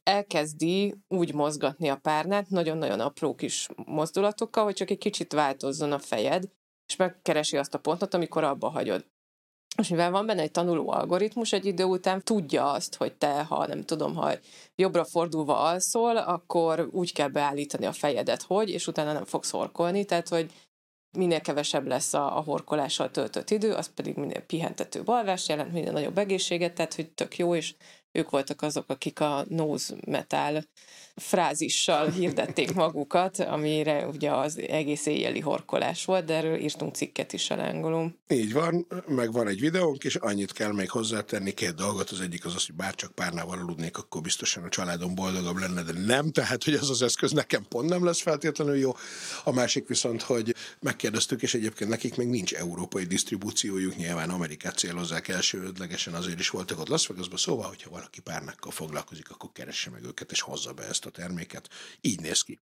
elkezdi úgy mozgatni a párnát, nagyon-nagyon apró kis mozdulatokkal, hogy csak egy kicsit változzon a fejed, és megkeresi azt a pontot, amikor abba hagyod. És mivel van benne egy tanuló algoritmus, egy idő után tudja azt, hogy te, ha nem tudom, ha jobbra fordulva alszol, akkor úgy kell beállítani a fejedet, hogy, és utána nem fogsz horkolni, tehát, hogy minél kevesebb lesz a, a horkolással töltött idő, az pedig minél pihentetőbb alvás jelent, minél nagyobb egészséget, tehát, hogy tök jó, és ők voltak azok, akik a nose metal frázissal hirdették magukat, amire ugye az egész éjjeli horkolás volt, de erről írtunk cikket is a Lángolón. Így van, meg van egy videónk, és annyit kell még hozzátenni, két dolgot. Az egyik az az, hogy bárcsak párnával aludnék, akkor biztosan a családom boldogabb lenne, de nem, tehát, hogy ez az eszköz nekem pont nem lesz feltétlenül jó. A másik viszont, hogy megkérdeztük, és egyébként nekik még nincs európai disztribúciójuk, nyilván Amerikát célozzák elsődlegesen, azért is voltak ott Las Vegasban, szóval, hogyha valaki párnákkal foglalkozik, akkor keresse meg őket, és hozza be ezt a terméket. Így néz ki.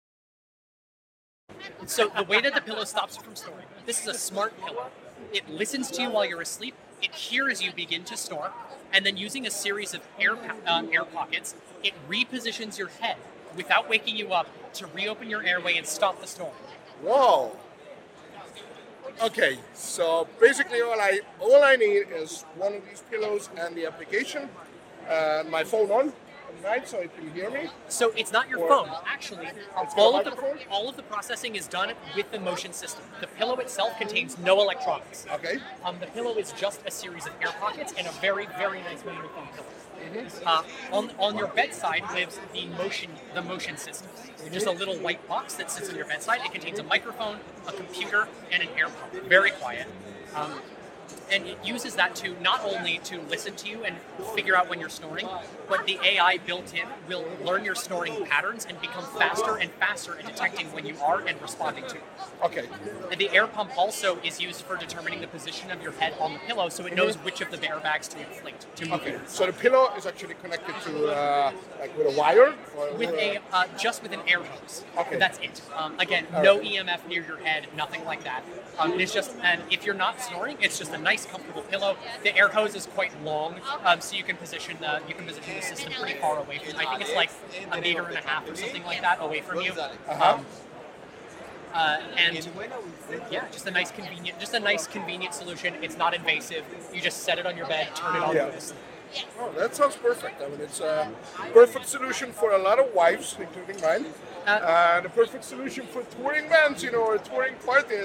So the way that the pillow stops you from snoring, this is a smart pillow. It listens to you while you're asleep, it hears you begin to snore, and then using a series of air, uh, air pockets, it repositions your head without waking you up to reopen your airway and stop the snoring. Whoa. Okay, so basically all I all I need is one of these pillows and the application, and my phone on. Right, so it can hear me. So it's not your Or phone, actually. It's All got of a the microphone? all of the processing is done with the motion system. The pillow itself contains no electronics. Okay. Um, the pillow is just a series of air pockets and a very, very nice microphone pillow. Uh, on on your bedside lives the motion the motion system. Just a little white box that sits on your bedside. It contains a microphone, a computer, and an air pump. Very quiet. Um, And it uses that to not only to listen to you and figure out when you're snoring, but the A I built in will learn your snoring patterns and become faster and faster at detecting when you are and responding to it. Okay. And the air pump also is used for determining the position of your head on the pillow, so it knows which of the airbags to inflate, to move Okay. in. So the pillow is actually connected to uh, like with a wire. Or With a uh, just with an air hose. Okay. That's it. Um, again, All no right. E M F near your head, nothing like that. Um, it's just, and if you're not snoring, it's just a nice, comfortable pillow. The air hose is quite long, um, so you can position the you can position the system pretty far away from. I think it's like a meter and a half or something like that away from you. Um, uh, and yeah, just a nice convenient, just a nice convenient solution. It's not invasive. You just set it on your bed, turn it on, Yeah. go to sleep. Oh, that sounds perfect. I mean, it's a perfect solution for a lot of wives, including mine. Uh, Uh, the perfect solution for touring bands, you know, or touring parties.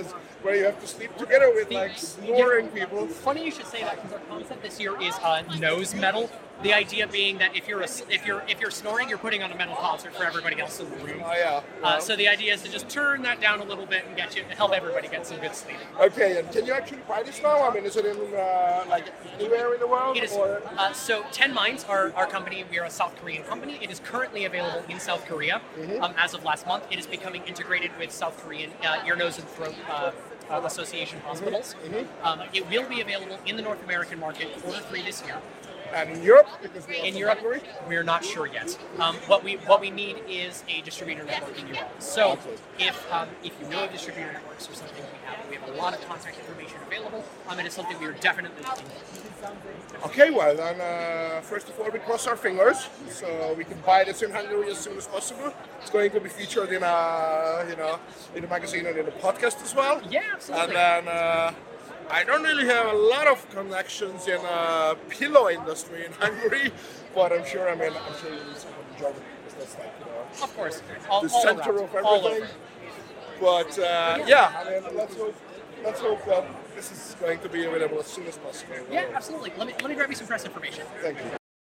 where you have to sleep together with like snoring people. Funny you should say that because our concept this year is uh, nose metal. The idea being that if you're a, if you're if you're snoring, you're putting on a metal concert for everybody else in the room. Oh yeah. Uh, so the idea is to just turn that down a little bit and get you help everybody get some good sleep. Okay, and can you actually buy this now? I mean, is it in uh, like anywhere in the world? It is. Or? Uh, so Ten Minds, our, our company, we are a South Korean company. It is currently available in South Korea. Mm-hmm. Um, as of last month, it is becoming integrated with South Korean uh, ear, nose, and throat uh, uh, association hospitals. Mm-hmm. Um, it will be available in the North American market quarter three this year. And in Europe, because we in Europe, Hungary? We're not sure yet. Um, what we what we need is a distributor network in Europe. So okay. if um, if you know of distributor networks or something, we have we have a lot of contact information available. Um, and it's something we are definitely looking at. Okay, well then, uh, first of all, we cross our fingers, so we can buy this in Hungary as soon as possible. It's going to be featured in a you know in a magazine and in a podcast as well. Yeah, absolutely. And then. Uh, I don't really have a lot of connections in the pillow industry in Hungary, but I'm sure, I mean, I'm sure you need someone in Germany, because that's like, you know, of course, all, the all center around. of everything. But, uh, yeah, I mean, let's hope, let's hope that this is going to be available as soon as possible. Yeah, absolutely. Let me, let me grab you some press information. Thank you.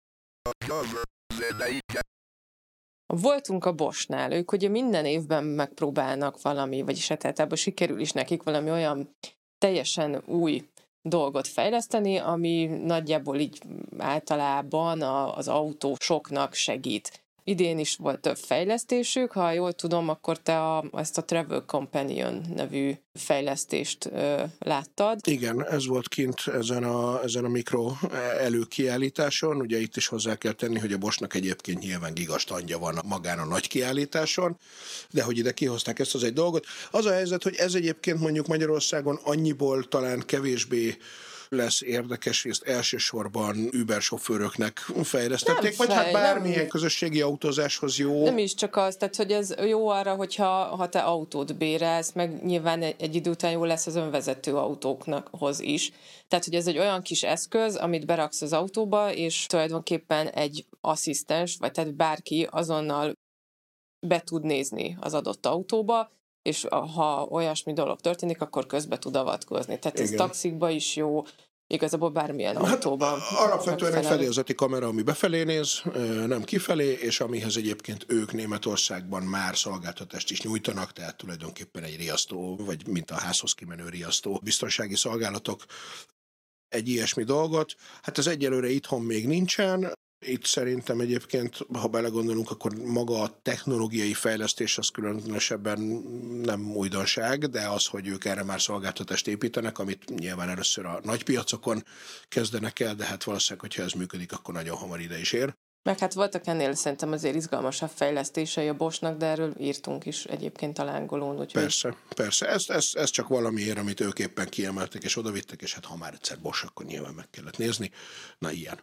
Voltunk a Boschnál, ők ugye minden évben megpróbálnak valami, vagyis hát általában sikerül is nekik valami olyan teljesen új dolgot fejleszteni, ami nagyjából így általában az autósoknak segít. Idén is volt több fejlesztésük, ha jól tudom, akkor te a, ezt a Travel Companion nevű fejlesztést ö, láttad. Igen, ez volt kint ezen a, ezen a mikro előkiállításon. Ugye itt is hozzá kell tenni, hogy a Boschnak egyébként nyilván gigastandja van magán a nagy kiállításon, de hogy ide kihozták ezt az egy dolgot. Az a helyzet, hogy ez egyébként mondjuk Magyarországon annyiból talán kevésbé lesz érdekes, hogy ezt elsősorban Uber sofőröknek fejlesztették, nem vagy fej, hát bármilyen nem. közösségi autózáshoz jó. Nem is csak az, tehát hogy ez jó arra, hogyha ha te autót bérelsz, meg nyilván egy, egy idő után jó lesz az önvezető autókhoz is. Tehát, hogy ez egy olyan kis eszköz, amit beraksz az autóba, és tulajdonképpen egy asszisztens, vagy tehát bárki azonnal be tud nézni az adott autóba, és ha olyasmi dolog történik, akkor közbe tud avatkozni. Tehát ez Igen. taxikba is jó, igazából bármilyen hát autóban. Alapvetően egy fedélzeti kamera, ami befelé néz, nem kifelé, és amihez egyébként ők Németországban már szolgáltatást is nyújtanak, tehát tulajdonképpen egy riasztó, vagy mint a házhoz kimenő riasztó biztonsági szolgálatok egy ilyesmi dolgot. Hát ez egyelőre itthon még nincsen. Itt szerintem egyébként, ha belegondolunk, akkor maga a technológiai fejlesztés az különösebben nem újdonság, de az, hogy ők erre már szolgáltatást építenek, amit nyilván először a nagy piacokon kezdenek el, de hát valószínűleg, hogyha ez működik, akkor nagyon hamar ide is ér. Meg hát voltak ennél szerintem azért izgalmasabb fejlesztései a Boschnak, de erről írtunk is egyébként a lángolón. Úgyhogy... Persze, persze. Ez, ez, ez csak valamiért, amit ők éppen kiemeltek és odavittek, és hát ha már egyszer Bosch, akkor nyilván meg kellett nézni. Na ilyen.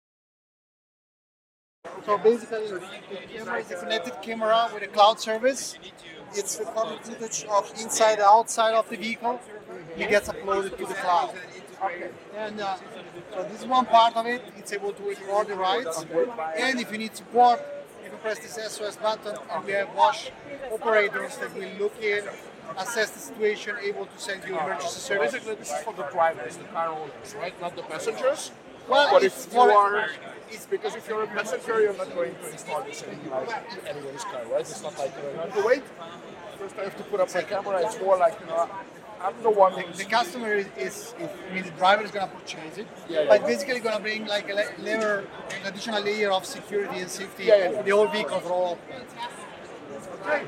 So basically, the camera is a connected camera with a cloud service. It's recording footage of inside and outside of the vehicle. It gets uploaded to the cloud. And uh, so this is one part of it. It's able to record the rides. And if you need support, you can press this S O S button, and we have Bosch operators that will look in, assess the situation, able to send you emergency service. Basically, this is for the drivers, the car owners, right? Not the passengers. Well, but if you are, it's because if you're a passenger, you're not going to install this in like anyone's car, right? It's not like you're going to wait. First, I have to put up my camera. It's more like, you know, I'm the one. The, the customer is, is, is, I mean, the driver is going to purchase it, yeah, yeah, but yeah. basically going to bring like a layer, an additional layer of security and safety yeah, yeah. for the whole vehicle for all occupants. Okay.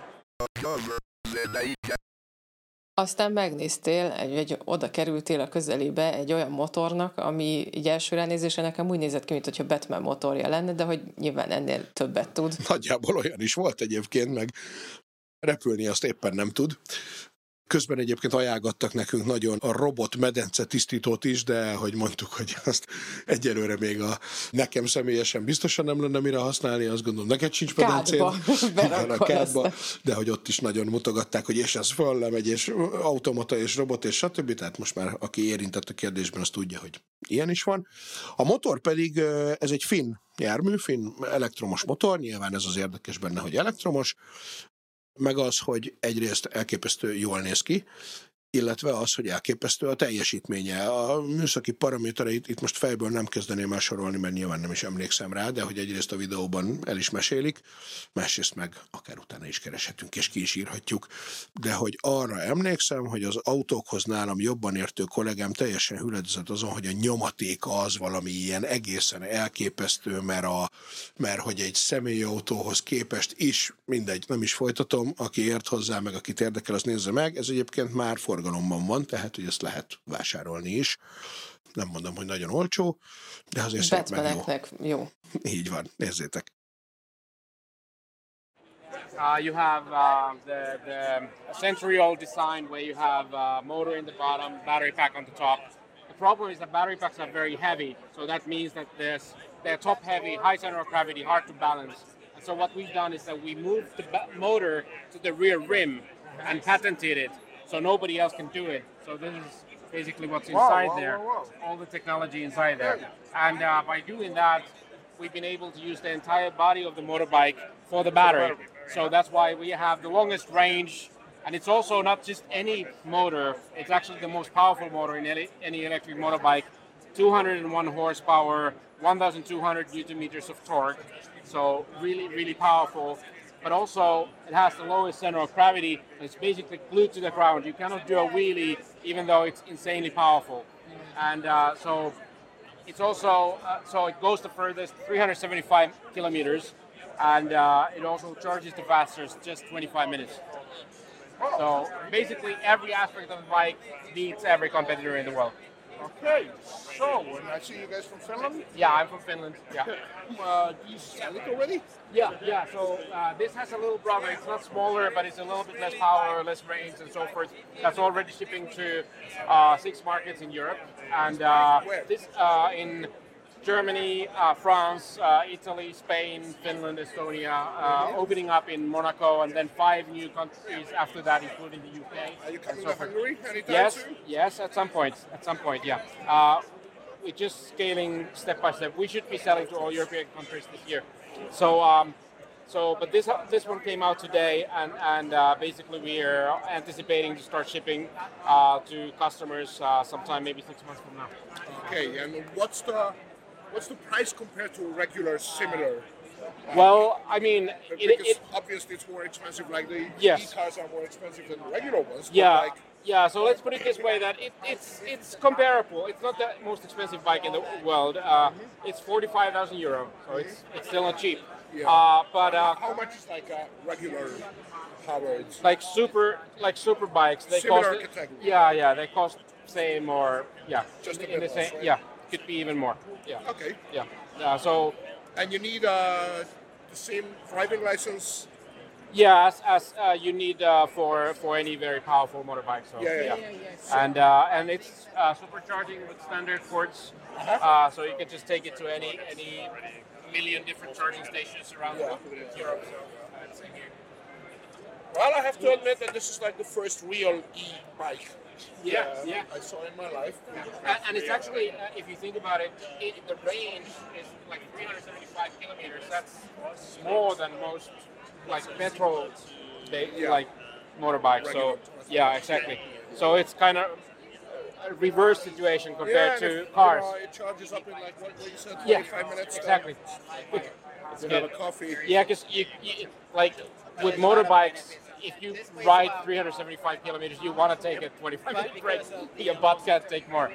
Aztán megnéztél, egy, egy, oda kerültél a közelébe egy olyan motornak, ami így első ránézésre nekem úgy nézett ki, mint hogyha Batman motorja lenne, de hogy nyilván ennél többet tud. Nagyjából olyan is volt egyébként, meg repülni azt éppen nem tud. Közben egyébként ajánlgattak nekünk nagyon a robot medence tisztítót is, de hogy mondtuk, hogy azt egyelőre még a nekem személyesen biztosan nem lenne mire használni, azt gondolom, neked sincs medencén. Kádba. Kádba, de hogy ott is nagyon mutogatták, hogy és ez föl lemegy, és automata, és robot, és stb. Tehát most már aki érintett a kérdésben, az tudja, hogy ilyen is van. A motor pedig, ez egy finn jármű, finn elektromos motor, nyilván ez az érdekes benne, hogy elektromos, meg az, hogy egyrészt elképesztő jól néz ki, illetve az, hogy elképesztő a teljesítménye. A műszaki paramétereit itt most fejből nem kezdeném el sorolni, mert nyilván nem is emlékszem rá, de hogy egyrészt a videóban el is mesélik, másrészt meg akár utána is kereshetünk és ki is írhatjuk, de hogy arra emlékszem, hogy az autókhoz nálam jobban értő kollégám teljesen hüledezett azon, hogy a nyomatéka az valami ilyen egészen elképesztő, mert, a, mert hogy egy személyautóhoz képest is, mindegy, nem is folytatom, aki ért hozzá, meg akit érdekel, az nézze meg, ez egyébként már forgalomban van, tehát hogy ezt lehet vásárolni is. Nem mondom, hogy nagyon olcsó, de azért szép meg jó. jó. Így van, nézzétek. Uh, you have uh, the, the century-old design where you have a motor in the bottom, battery pack on the top. The problem is that battery packs are very heavy, so that means that there's, they're top-heavy, high center of gravity, hard to balance. And so what we've done is that we moved the ba- motor to the rear rim and patented it, so nobody else can do it. So this is basically what's inside whoa, whoa, there, whoa, whoa. all the technology inside there. And uh, by doing that, we've been able to use the entire body of the motorbike for the battery. So that's why we have the longest range, and it's also not just any motor, it's actually the most powerful motor in any, any electric motorbike. two hundred one horsepower, one thousand two hundred newton meters of torque, so really, really powerful. But also, it has the lowest center of gravity, and it's basically glued to the ground. You cannot do a wheelie, even though it's insanely powerful. And uh, so, it's also, uh, so it goes the furthest, three hundred seventy-five kilometers, and uh, it also charges the fastest, just twenty-five minutes. So, basically, every aspect of the bike beats every competitor in the world. Okay, so, and I see you guys from Finland? Yeah, I'm from Finland, yeah. Uh, do you sell it already? Yeah, yeah, so uh, this has a little brother. It's not smaller, but it's a little bit less power, less range, and so forth. That's already shipping to uh, six markets in Europe. And uh, this uh, in Germany, uh, France, uh, Italy, Spain, Finland, Estonia, uh, opening up in Monaco, and then five new countries after that, including the U K. Are you coming so to Hungary anytime yes, soon? Yes, at some point. At some point, yeah. Uh, we're just scaling step by step. We should be selling to all European countries this year. So, um, so, but this this one came out today, and and uh, basically we are anticipating to start shipping uh, to customers uh, sometime maybe six months from now. Okay, and what's the what's the price compared to regular similar? Well, I mean, because it, it, obviously it's more expensive. Like the yes. e-cars are more expensive than the regular ones. Yeah. Like, Yeah, so let's put it this way, that it, it's it's comparable. It's not the most expensive bike in the world. Uh, it's forty-five thousand euro, so it's it's still not cheap. Yeah. Uh, but uh, how much is like a regular powered? Like super, like super bikes. They Similar cost. category. Yeah, yeah, they cost same or yeah, Just a in bit the same. less, right? Yeah, could be even more. Yeah. Okay. Yeah. Uh, so. And you need uh, the same driving license. Yeah, as, as uh, you need uh, for for any very powerful motorbike. So yeah, yeah, yeah. yeah. yeah. And uh, and it's uh, supercharging with standard ports, uh-huh. uh, so you can just take it to any any million different charging stations around yeah. Europe. So that's here. Well, I have to admit that this is like the first real e-bike. Yeah, uh, yeah. I saw in my life. Yeah. And, and it's actually, uh, if you think about it, it, the range is like three hundred seventy-five kilometers. That's more than most like petrol, they, yeah. like motorbikes. So yeah, exactly. So it's kind of a reverse situation compared yeah, to if, cars. You know, it charges up in like what, what you said, twenty-five yeah, minutes. Exactly. Uh, it's you have a coffee. Yeah, because you, you like with motorbikes, if you ride three hundred seventy-five kilometers, you want to take a twenty-five minute break. Your butt can't take more.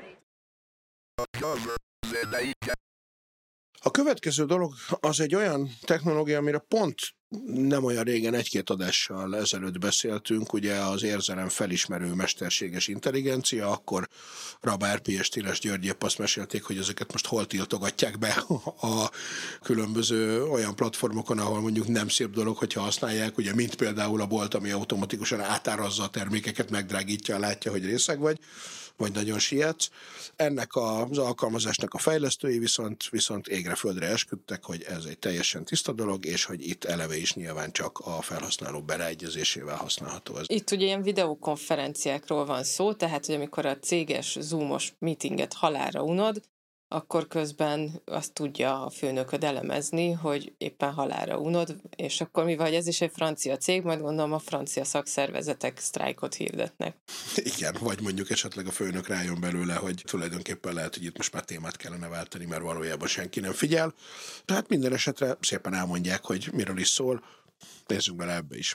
A következő dolog az egy olyan technológia, amire pont nem olyan régen, egy-két adással ezelőtt beszéltünk, ugye az érzelem felismerő mesterséges intelligencia, akkor Rab Árpi és Tiles György épp azt mesélték, hogy ezeket most hol tiltogatják be a különböző olyan platformokon, ahol mondjuk nem szép dolog, hogyha használják, ugye mint például a bolt, ami automatikusan átárazza a termékeket, megdrágítja, látja, hogy részeg vagy, vagy nagyon sietsz. Ennek az alkalmazásnak a fejlesztői viszont, viszont égre-földre esküdtek, hogy ez egy teljesen tiszta dolog, és hogy itt eleve is nyilván csak a felhasználó beleegyezésével használható ez. Itt ugye ilyen videokonferenciákról van szó, tehát hogy amikor a céges zoomos meetinget halálra unod, akkor közben azt tudja a főnököd elemezni, hogy éppen halálra unod, és akkor mivel ez is egy francia cég, majd gondolom a francia szakszervezetek sztrájkot hirdetnek. Igen, vagy mondjuk esetleg a főnök rájön belőle, hogy tulajdonképpen lehet, hogy itt most már témát kellene váltani, mert valójában senki nem figyel. Tehát minden esetre szépen elmondják, hogy miről is szól. Nézzünk bele ebbe is.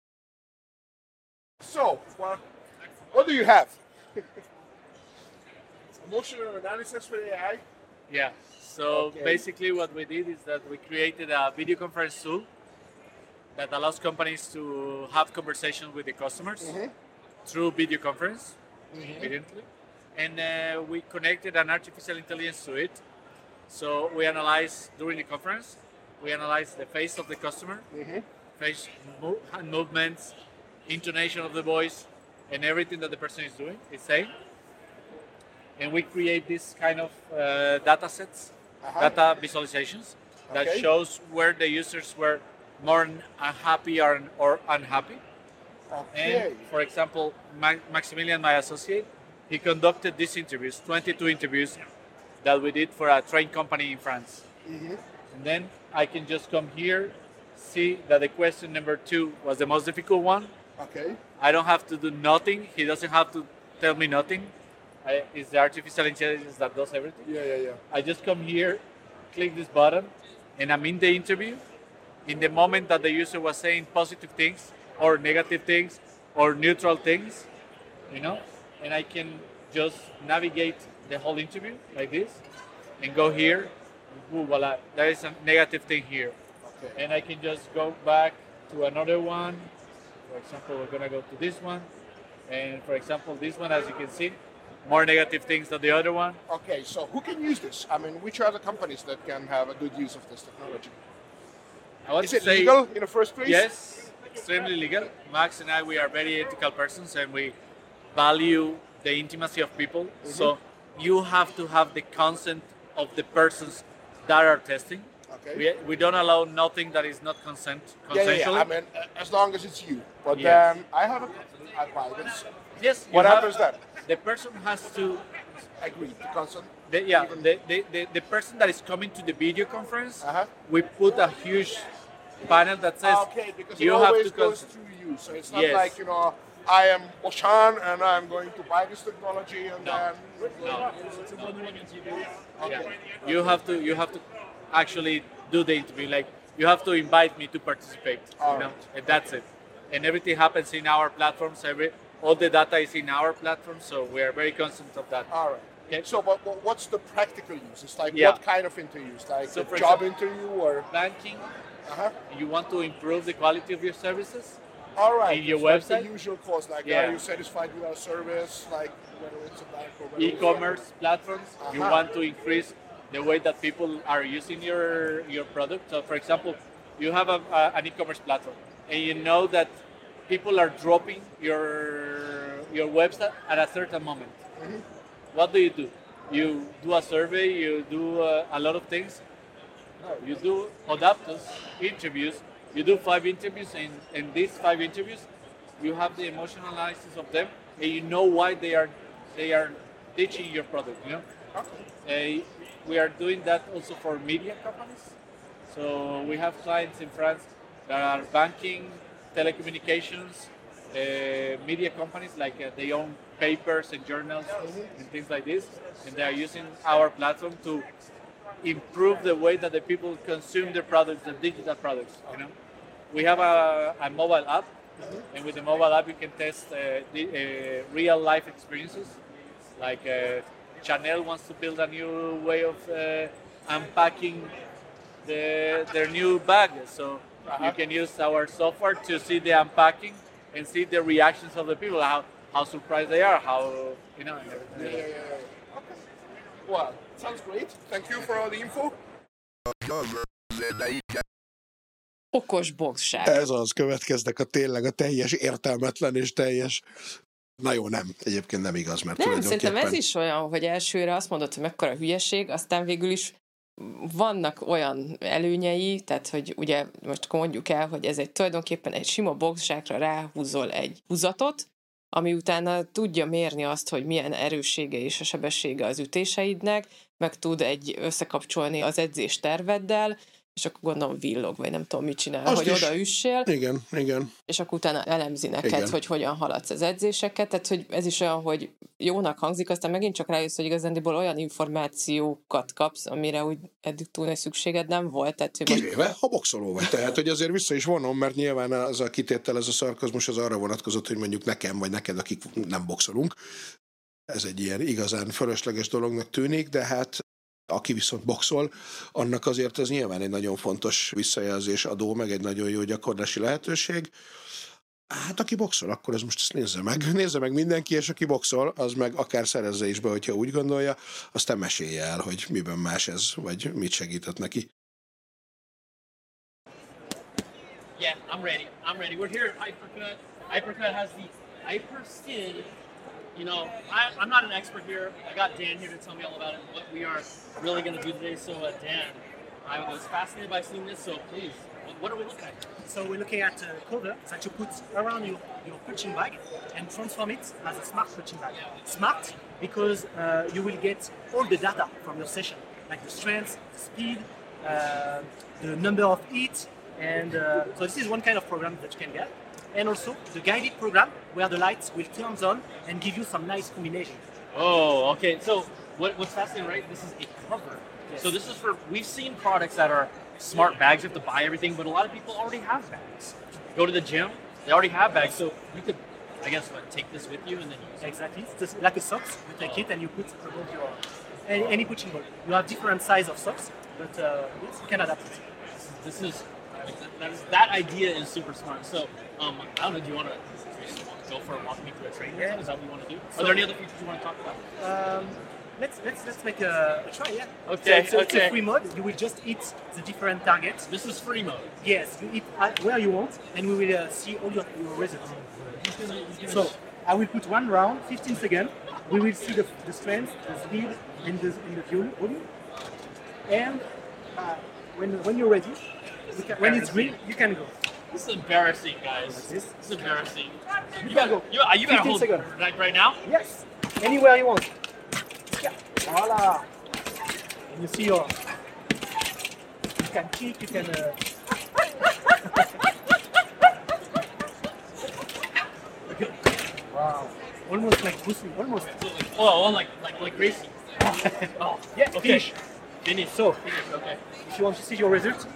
So, well, what do you have? Emotional analysis for A I? Yeah. So Okay. basically what we did is that we created a video conference tool that allows companies to have conversations with the customers Mhm. through video conference, Mhm. evidently. And uh, we connected an artificial intelligence to it. So we analyze during the conference, we analyze the face of the customer, Mhm. face mo- hand movements, intonation of the voice, and everything that the person is doing, is saying. And we create this kind of uh, data sets, Uh-huh. data visualizations that Okay. shows where the users were more unhappy or, or unhappy. Okay. And for example, Ma- Maximilian, my associate, he conducted these interviews, twenty-two interviews that we did for a train company in France. Mhm. And then I can just come here, see that the question number two was the most difficult one. Okay. I don't have to do nothing. He doesn't have to tell me nothing. I, it's the artificial intelligence that does everything. Yeah, yeah, yeah. I just come here, click this button, and I'm in the interview. In the moment that the user was saying positive things or negative things or neutral things, you know, and I can just navigate the whole interview like this and go here. Ooh, voila, there is a negative thing here. Okay. And I can just go back to another one. For example, we're gonna go to this one. And for example, this one, as you can see, more negative things than the other one. Okay, so who can use this? I mean, which are the companies that can have a good use of this technology? I want Is to it say, legal in the first place? Yes, extremely legal. Max and I, we are very ethical persons and we value the intimacy of people. So you have to have the consent of the persons that are testing. Okay. We, we don't allow nothing that is not consent, Yeah, yeah, consensual. yeah. I mean, uh, as long as it's you. But Yes. then I have a company, I buy this. Yes. you What have- happens then? The person has to Agree to consent. The, yeah, the, the, the, the person that is coming to the video conference, Uh-huh. we put a huge panel that says Okay, because you it have always to goes consent. through you. So it's not Yes. like, you know, I am Oshan and I'm going to buy this technology and No. then... No. Okay. Yeah. You have to you have to actually do the interview. Like you have to invite me to participate. All you know, right. and that's it. And everything happens in our platforms. Every all the data is in our platform, so we are very conscious of that. All right. Okay. So, but, but what's the practical use? It's like Yeah. what kind of interviews? Like So a for job example- interview or? Banking. Uh-huh. You want to improve the quality of your services. All right. In your It's like website? the usual calls, like, Yeah. are you satisfied with our service? Like, whether it's a bank or whether it's- E-commerce platforms. You Uh-huh. want to increase the way that people are using your your product. So, for example, you have a, a, an e-commerce platform, and you know that people are dropping your your website at a certain moment. Mhm. What do you do? You do a survey. You do uh, a lot of things. No, you do adapters, interviews. You do five interviews, and in these five interviews, you have the emotional analysis of them, and you know why they are they are ditching your product. You know. Uh, we are doing that also for media companies. So we have clients in France that are banking, telecommunications, uh, media companies like uh, they own papers and journals and things like this, and they are using our platform to improve the way that the people consume their products, the digital products. You know, we have a, a mobile app, and with the mobile app you can test uh, the, uh, real life experiences. Like uh, Chanel wants to build a new way of uh, unpacking the, their new bag, so you can use our software to see the unpacking and see the reactions of the people, how how surprised they are, how you know. And everything. Yeah, yeah, yeah, yeah. Okay. Well, sounds great. Thank you for all the info. Okos boxság. Ez az, következnek a tényleg a teljes értelmetlen és teljes... Na jó, nem. Egyébként nem igaz, mert Nem, tulajdonképpen... szerintem ez is olyan, hogy elsőre azt mondod, hogy mekkora hülyeség, aztán végül is vannak olyan előnyei, tehát hogy ugye most mondjuk el, hogy ez egy tulajdonképpen egy sima boxsákra ráhúzol egy húzatot, ami utána tudja mérni azt, hogy milyen erőssége és a sebessége az ütéseidnek, meg tud egy összekapcsolni az edzés terveddel, és akkor gondolom villog, vagy nem tudom, mit csinál, Azt hogy is. odaüssél. Igen, igen. És akkor utána elemzi neked, Igen. hogy hogyan haladsz az edzéseket, tehát hogy ez is olyan, hogy jónak hangzik, aztán megint csak rájössz, hogy igazándiból olyan információkat kapsz, amire úgy eddig túl nagy szükséged nem volt. Tehát, hogy most... Kivéve, ha boxoló vagy. Tehát, hogy azért vissza is vonom, mert nyilván az a kitétel, ez a szarkazmus az arra vonatkozott, hogy mondjuk nekem, vagy neked, akik nem boxolunk. Ez egy ilyen igazán fölösleges dolognak tűnik, de hát aki viszont boxol, annak azért ez nyilván egy nagyon fontos visszajelzés adó, meg egy nagyon jó gyakorlási lehetőség. Hát aki boxol, akkor ez most ezt nézze meg. Nézze meg mindenki, és aki boxol, az meg akár szerezze is be, hogyha úgy gondolja, aztán mesélje el, hogy miben más ez, vagy mit segített neki. Yeah, I'm ready. I'm ready. We're here at Hypercut. Hypercut has the Hyper Skin. You know, I, I'm not an expert here. I got Dan here to tell me all about it, what we are really going to do today. So, uh, Dan, I was fascinated by seeing this, so please, what, what are we looking at? So we're looking at a cover that you put around your, your punching bag and transform it as a smart punching bag. Smart because uh, you will get all the data from your session, like the strength, the speed, uh, the number of hits, and uh, so this is one kind of program that you can get. And also the guided program where the lights will turn on and give you some nice combinations. Oh, okay. So what, what's fascinating, right? This is a cover. Yes. So this is for, we've seen products that are smart bags, you have to buy everything, but a lot of people already have bags. Go to the gym, they already have bags, so you could, I guess, what, take this with you and then use it. Exactly. It's just like a socks. You take it and you put above your any, any punching ball. You have different size of socks, but uh, yes, you can adapt it. This is, that, is, that idea is super smart. So, um, I don't know, do you want to go for a walk me through a training? Yeah. Is that what you want to do? So, Are there any other features you want to talk about? Um, let's let's let's make a, a try. Yeah. Okay, So it's, a- it's okay. a free mode. You will just hit the different targets. This is free mode. Yes, you hit at where you want, and we will uh, see all your, your results. So I will put one round, fifteen seconds. We will see the, the strength, the speed, and the and the fuel volume. And uh, when when you're ready, you can, when it's green, you can go. This is embarrassing, guys. Like this. This is embarrassing. You, You got can go. you, you got to fifteen hold seconds. right, right now? Yes, anywhere you want. Yeah. Voila. And you see your. You can kick. You can. Uh, wow. Almost like Bruce Lee. Almost. Oh, oh like like like racing. Oh, Yeah. okay. Finish. Finish. So, Finish. Okay. if you want to see your results,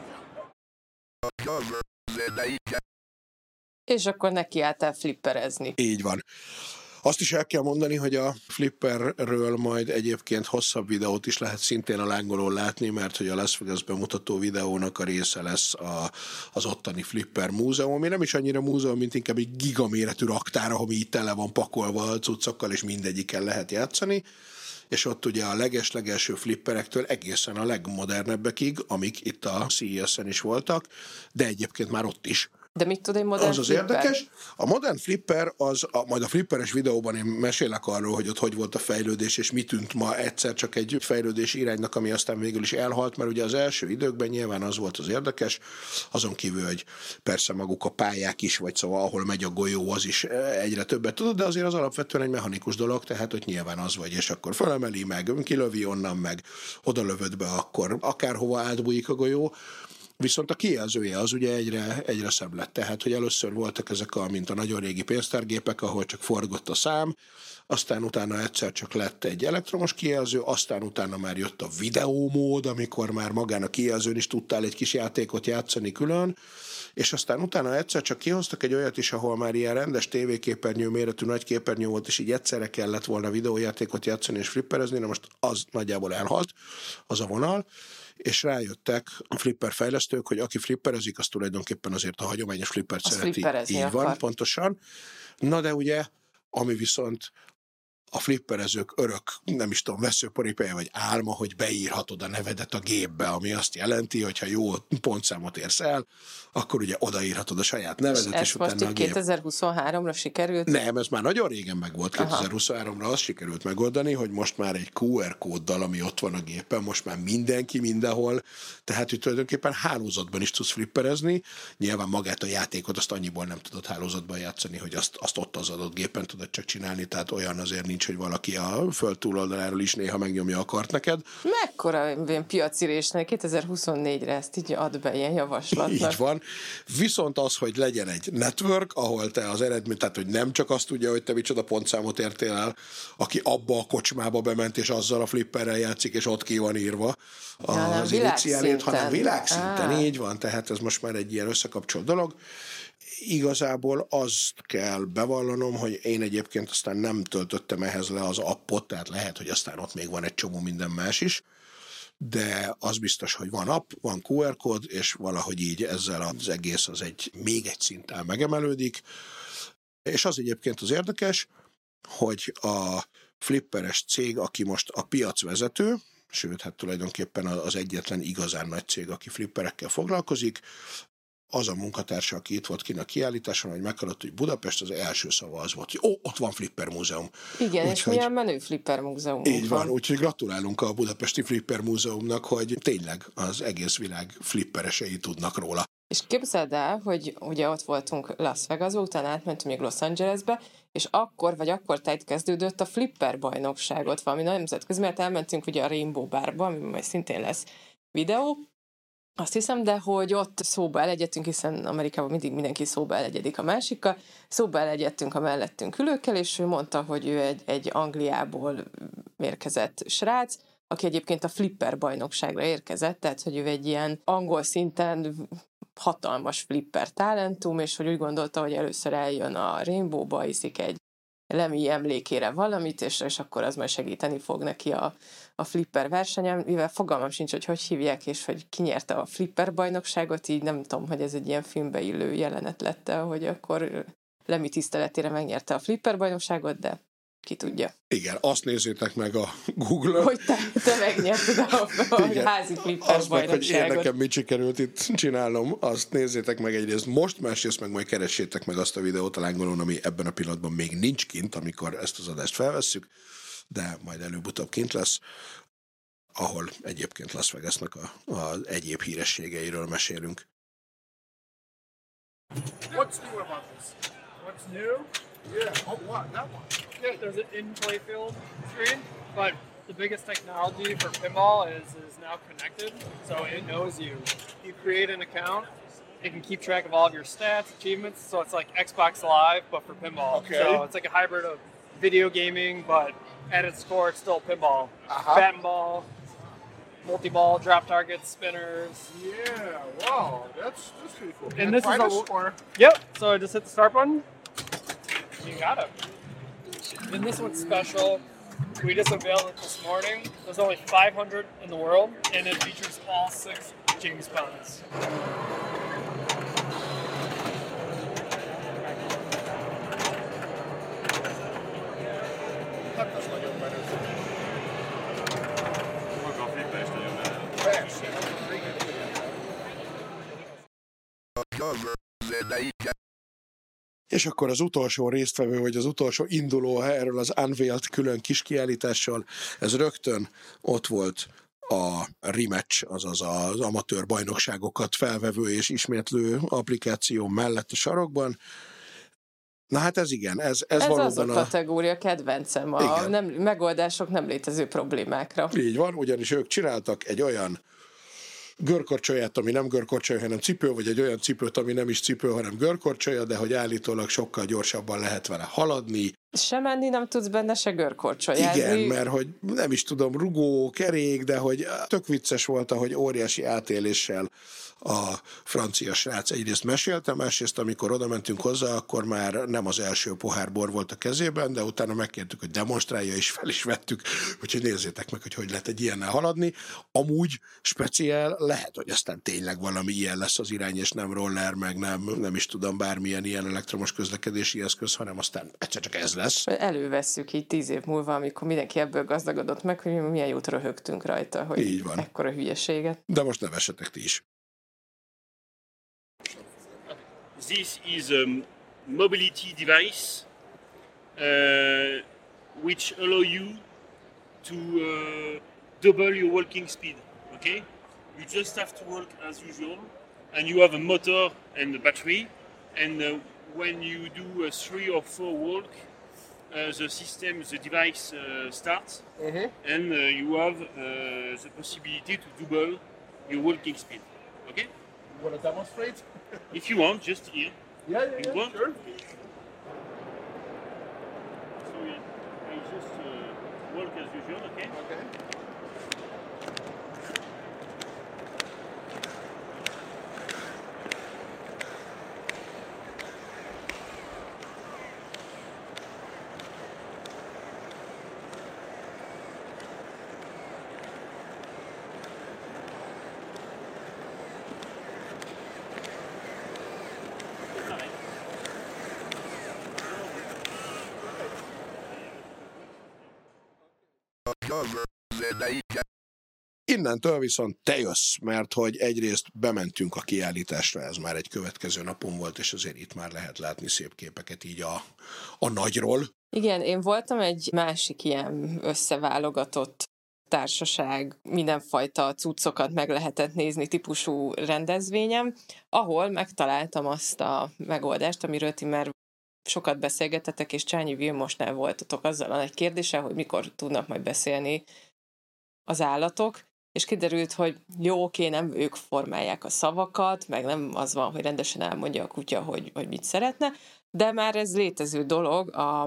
És akkor nekiálltál flipperezni. Így van. Azt is el kell mondani, hogy a flipperről majd egyébként hosszabb videót is lehet szintén a lángolón látni, mert hogy a Las Vegas bemutató videónak a része lesz a, az ottani Flipper múzeum, ami nem is annyira múzeum, mint inkább egy gigaméretű raktár, ami így tele van pakolva a cuccokkal, és mindegyiken lehet játszani. És ott ugye a leges-legelső flipperektől egészen a legmodernebbekig, amik itt a cé é es-en is voltak, de egyébként már ott is. De mit tud egy modern Az az flipper? érdekes. A modern flipper, az, a, majd a flipperes videóban én mesélek arról, hogy ott hogy volt a fejlődés, és mi tűnt ma egyszer csak egy fejlődési iránynak, ami aztán végül is elhalt, mert ugye az első időkben nyilván az volt az érdekes, azon kívül, hogy persze maguk a pályák is, vagy szóval ahol megy a golyó, az is egyre többet tudod, de azért az alapvetően egy mechanikus dolog, tehát hogy nyilván az vagy, és akkor felemeli meg, kilövi onnan meg, oda lövöd be, akkor akárhova átbújik a golyó. Viszont a kijelzője az ugye egyre, egyre szebb lett. Tehát, hogy először voltak ezek a, mint a nagyon régi pénztárgépek, ahol csak forgott a szám, aztán utána egyszer csak lett egy elektromos kijelző, aztán utána már jött a videómód, amikor már magán a kijelzőn is tudtál egy kis játékot játszani külön, és aztán utána egyszer csak kihoztak egy olyat is, ahol már ilyen rendes tévéképernyő méretű nagy képernyő volt, és így egyszerre kellett volna videójátékot játszani és flipperezni, na most az nagyjából elhalt, az a vonal, és rájöttek a flipper fejlesztők, hogy aki flipperezik, az tulajdonképpen azért a hagyományos flippert Az szereti. flipperezni Így van, akar. pontosan. Na de ugye, ami viszont a flipperezők örök, nem is tudom, veszőparipája vagy álma, hogy beírhatod a nevedet a gépbe, ami azt jelenti, hogy ha jó pontszámot érsz el, akkor ugye odaírhatod a saját nevedet, és, Ez és most utána a így gép. kétezer-huszonháromra sikerült? Nem, ez már nagyon régen megvolt, kétezer-huszonháromra azt sikerült megoldani, hogy most már egy kú er kóddal, ami ott van a gépen, most már mindenki mindenhol, tehát hogy tulajdonképpen hálózatban is tudsz flipperezni, nyilván magát a játékot azt annyiból nem tudod hálózatban játszani, hogy azt, azt ott az adott gépen tudod csak csinálni, tehát olyan azért nincs nincs, hogy valaki a föld túloldaláról is néha megnyomja a kart neked. Mekkora ilyen piacirésnek kétezer-huszonnégyre ezt így ad be ilyen javaslatnak. Így van. Viszont az, hogy legyen egy network, ahol te az eredmény, tehát hogy nem csak azt tudja, hogy te micsoda pontszámot értél el, aki abba a kocsmába bement, és azzal a flipperrel játszik, és ott ki van írva az iniciálét, hanem világszinten. Így van, tehát ez most már egy ilyen összekapcsolt dolog. Igazából azt kell bevallanom, hogy én egyébként aztán nem töltöttem ehhez le az appot, tehát lehet, hogy aztán ott még van egy csomó minden más is, de az biztos, hogy van app, van kú er kód, és valahogy így ezzel az egész az egy még egy szinten megemelődik. És az egyébként az érdekes, hogy a flipperes cég, aki most a piacvezető, sőt, hát tulajdonképpen az egyetlen igazán nagy cég, aki flipperekkel foglalkozik, az a munkatársa, aki itt volt kint a kiállításon, hogy meghallott, hogy Budapest, az első szava az volt, hogy ó, ott van Flipper Múzeum. Igen, úgy, és hogy, milyen menő Flipper Múzeum. Így van, van, úgyhogy gratulálunk a Budapesti Flipper Múzeumnak, hogy tényleg az egész világ flipperesei tudnak róla. És képzeld el, hogy ugye ott voltunk Las Vegasba, utána átmentünk még Los Angelesbe, és akkor vagy akkor tájt kezdődött a Flipper bajnokságot, valami nemzetközi, mert elmentünk ugye a Rainbow Barba, ami majd szintén lesz videó, azt hiszem, de hogy ott szóba elegyedtünk, hiszen Amerikában mindig mindenki szóba elegyedik a másikkal, szóba elegyedtünk a mellettünk ülőkkel, és ő mondta, hogy ő egy, egy Angliából érkezett srác, aki egyébként a Flipper bajnokságra érkezett, tehát hogy ő egy ilyen angol szinten hatalmas flipper talentum, és hogy úgy gondolta, hogy először eljön a Rainbowba, iszik egy Lemmy emlékére valamit, és, és akkor az majd segíteni fog neki a, a flipper versenyen, mivel fogalmam sincs, hogy hogy hívják, és hogy ki nyerte a flipper bajnokságot, így nem tudom, hogy ez egy ilyen filmbe illő jelenet lett, hogy akkor Lemmy tiszteletére megnyerte a flipper bajnokságot, de ki tudja. Igen, azt nézzétek meg a Google-on. Hogy te, te megnyerted a, a igen, házi flipper azt meg, hogy én bajnokságot. nekem mit sikerült itt csinálnom, azt nézzétek meg egyrészt most, másrészt meg majd keressétek meg azt a videót a Lángolón, ami ebben a pillanatban még nincs kint, amikor ezt az adást felvesszük, de majd előbb-utóbb kint lesz, ahol egyébként Las Vegasnak a, a egyéb hírességeiről mesélünk. What's new about this? What's new? Yeah, oh what, that one. Yeah, there's an in-play field screen, but the biggest technology for pinball is is now connected, so it knows you. You create an account, it can keep track of all of your stats, achievements, so it's like Xbox Live, but for pinball. Okay. So it's like a hybrid of video gaming, but at its core, it's still pinball. Uh-huh. Bat and ball, multi-ball, drop targets, spinners. Yeah, wow, that's, that's pretty cool. And this is Find a, us, or? Yep, so I just hit the start button. You got it. And this one's special. We just unveiled it this morning. There's only five hundred in the world, and it features all six James Bonds. Hát az nagyon menő. Maga a flipper is nagyon menő. Persze, igen, igen. És akkor az utolsó résztvevő, vagy az utolsó induló erről az Unveiled külön kis kiállítással, ez rögtön ott volt a rematch, azaz az amatőr bajnokságokat felvevő és ismétlő applikáció mellett a sarokban. Na hát ez igen, ez, ez, ez valóban az a a kategória kedvencem, a nem, megoldások nem létező problémákra. Így van, ugyanis ők csináltak egy olyan görkorcsolyát, ami nem görkorcsolya, hanem cipő, vagy egy olyan cipőt, ami nem is cipő, hanem görkorcsolya, de hogy állítólag sokkal gyorsabban lehet vele haladni. Se menni nem tudsz benne, se görkorcsolyázni. Igen, mert hogy nem is tudom, rugó, kerék, de hogy tök vicces volt, ahogy óriási átéléssel a francia srác egyrészt mesélte, másrészt amikor oda mentünk hozzá, akkor már nem az első pohár bor volt a kezében, de utána megkértük, hogy demonstrálja, és fel is vettük, úgyhogy nézzétek meg, hogy hogy lehet egy ilyennel haladni. Amúgy speciál lehet, hogy aztán tényleg valami ilyen lesz az irány, és nem roller, meg nem, nem is tudom, bármilyen ilyen elektromos közlekedési eszköz, hanem aztán egyszer csak ez lesz. Elővesszük így tíz év múlva, amikor mindenki ebből gazdagodott meg, hogy milyen jót röhögtünk rajta, hogy így van. ekkora hülyeséget. De most nevessetek ti is. This is a mobility device uh, which allow you to uh, double your walking speed. Okay, you just have to walk as usual, and you have a motor and a battery. And uh, when you do a three or four walk, uh, the system, the device uh, starts, Mhm. and uh, you have uh, the possibility to double your walking speed. Okay? You want to demonstrate? If you want, just here. Yeah, yeah, You yeah, want? sure. So you, you just uh, walk as usual, okay? Okay. Innentől viszont te jössz, mert hogy egyrészt bementünk a kiállításra, ez már egy következő napon volt, és azért itt már lehet látni szép képeket így a, a nagyról. Igen, én voltam egy másik ilyen összeválogatott társaság, mindenfajta cuccokat meg lehetett nézni típusú rendezvényem, ahol megtaláltam azt a megoldást, amiről ti már sokat beszélgetetek, és Csányi Vilmosnál voltatok azzal a nagy kérdéssel, hogy mikor tudnak majd beszélni az állatok, és kiderült, hogy jó, oké, nem ők formálják a szavakat, meg nem az van, hogy rendesen elmondja a kutya, hogy, hogy mit szeretne, de már ez létező dolog, a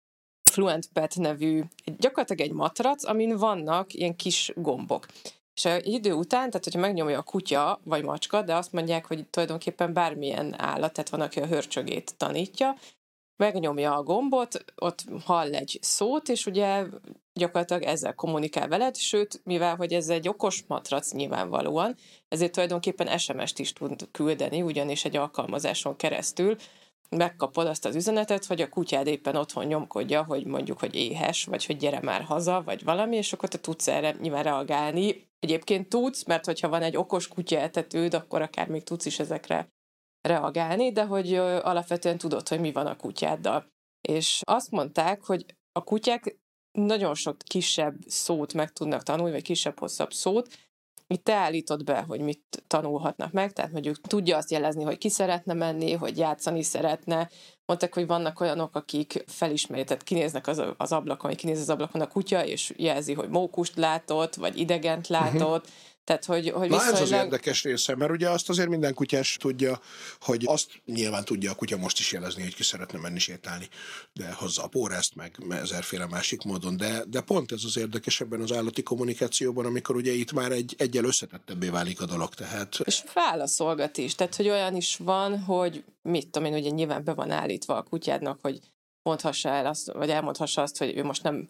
Fluent Pet nevű, gyakorlatilag egy matrac, amin vannak ilyen kis gombok. És egy idő után, tehát hogyha megnyomja a kutya vagy macska, de azt mondják, hogy tulajdonképpen bármilyen állat, tehát van, aki a hörcsögét tanítja, megnyomja a gombot, ott hall egy szót, és ugye gyakorlatilag ezzel kommunikál veled, sőt, mivel hogy ez egy okos matrac nyilvánvalóan, ezért tulajdonképpen es em est is tud küldeni, ugyanis egy alkalmazáson keresztül megkapod azt az üzenetet, hogy a kutyád éppen otthon nyomkodja, hogy mondjuk, hogy éhes, vagy hogy gyere már haza, vagy valami, és akkor te tudsz erre nyilván reagálni. Egyébként tudsz, mert hogyha van egy okos kutyaetetőd, akkor akár még tudsz is ezekre reagálni, de hogy alapvetően tudod, hogy mi van a kutyáddal. És azt mondták, hogy a kutyák nagyon sok kisebb szót meg tudnak tanulni, vagy kisebb-hosszabb szót. Itt te állítod be, hogy mit tanulhatnak meg, tehát mondjuk tudja azt jelezni, hogy ki szeretne menni, hogy játszani szeretne. Mondták, hogy vannak olyanok, akik felismerik, tehát kinéznek az, az ablakon, hogy kinéz az ablakon a kutya, és jelzi, hogy mókust látott, vagy idegent látott. Uh-huh. Tehát, hogy, hogy Na viszonylag... ez az érdekes része, mert ugye azt azért minden kutyás tudja, hogy azt nyilván tudja a kutya most is jelezni, hogy ki szeretne menni sétálni, de hozza a pórázt, meg ezerféle másik módon, de, de pont ez az érdekes ebben az állati kommunikációban, amikor ugye itt már egy, egyel összetettebbé válik a dolog, tehát... És válaszolgat is, tehát, hogy olyan is van, hogy mit tudom én, ugye nyilván be van állítva a kutyádnak, hogy mondhassa el azt, vagy elmondhassa azt, hogy ő most nem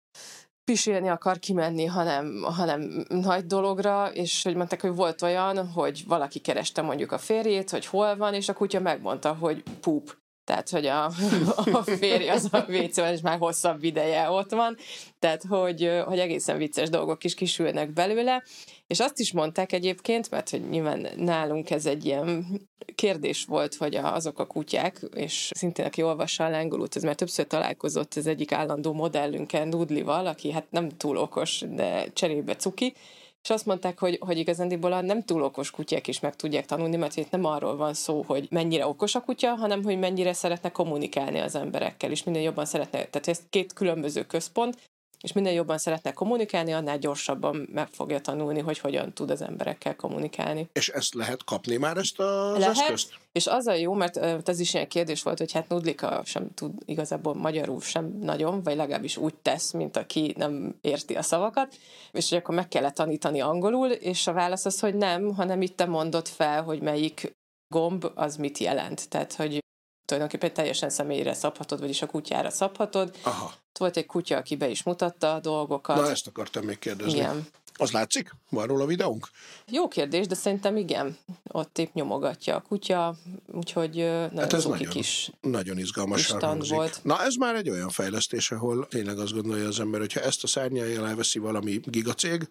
pisilni akar kimenni, hanem, hanem nagy dologra, és hogy mondták, hogy volt olyan, hogy valaki kereste mondjuk a férjét, hogy hol van, és a kutya megmondta, hogy poop. Tehát, hogy a, a férj az a vécében, és már hosszabb ideje ott van. Tehát, hogy, hogy egészen vicces dolgok is kisülnek belőle. És azt is mondták egyébként, mert hogy nyilván nálunk ez egy ilyen kérdés volt, hogy azok a kutyák, és szintén aki olvassa a Lángolót, ez már többször találkozott az egyik állandó modellünkkel, Nudlival, aki hát nem túl okos, de cserébe cuki, és azt mondták, hogy, hogy igazándiból a nem túl okos kutyák is meg tudják tanulni, mert itt nem arról van szó, hogy mennyire okos a kutya, hanem hogy mennyire szeretne kommunikálni az emberekkel, és minél jobban szeretne, tehát ez két különböző központ, és minél jobban szeretne kommunikálni, annál gyorsabban meg fogja tanulni, hogy hogyan tud az emberekkel kommunikálni. És ezt lehet kapni már, ezt az lehet, eszközt? És az a jó, mert ez is ilyen kérdés volt, hogy hát Nudlika sem tud igazából magyarul sem nagyon, vagy legalábbis úgy tesz, mint aki nem érti a szavakat, és hogy akkor meg kellett tanítani angolul, és a válasz az, hogy nem, hanem itt te mondod fel, hogy melyik gomb az mit jelent. Tehát, hogy tulajdonképpen teljesen személyre szabhatod, vagyis a kutyára szabhatod. Aha. Volt egy kutya, aki be is mutatta a dolgokat. Na, ezt akartam még kérdezni. Igen. Az látszik? Van róla videónk? Jó kérdés, de szerintem igen. Ott épp nyomogatja a kutya, úgyhogy nagyon hát ez cuki nagyon, kis nagyon izgalmasan hangzik. volt. Na, ez már egy olyan fejlesztés, ahol tényleg azt gondolja az ember, hogyha ezt a szárnyalja elveszi valami gigacég,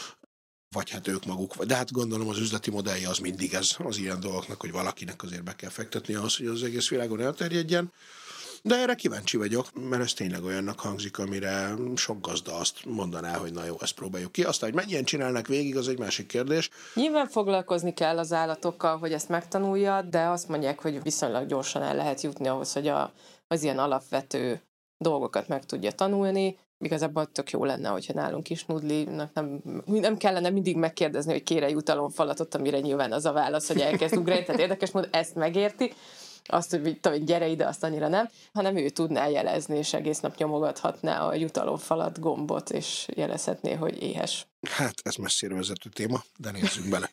vagy hát ők maguk, de hát gondolom az üzleti modellje az mindig ez az ilyen dolgoknak, hogy valakinek azért be kell fektetni ahhoz, hogy az egész világon elterjedjen. De erre kíváncsi vagyok, mert ez tényleg olyannak hangzik, amire sok gazda azt mondaná, hogy na jó, ezt próbáljuk ki. Aztán, hogy mennyien csinálnak végig, az egy másik kérdés. Nyilván foglalkozni kell az állatokkal, hogy ezt megtanulja, de azt mondják, hogy viszonylag gyorsan el lehet jutni ahhoz, hogy a, az ilyen alapvető dolgokat meg tudja tanulni. Igazából tök jó lenne, hogyha nálunk is Noodle-nak nem, nem kellene mindig megkérdezni, hogy kére jutalomfalatot, amire nyilván az a válasz, hogy elkezd ugrani, tehát érdekes módon ezt megérti, azt, hogy tudom, gyere ide, azt annyira nem, hanem ő tudná jelezni, és egész nap nyomogathatná a jutalomfalat gombot, és jelezhetné, hogy éhes. Hát ez messzire vezető téma, de nézzünk bele.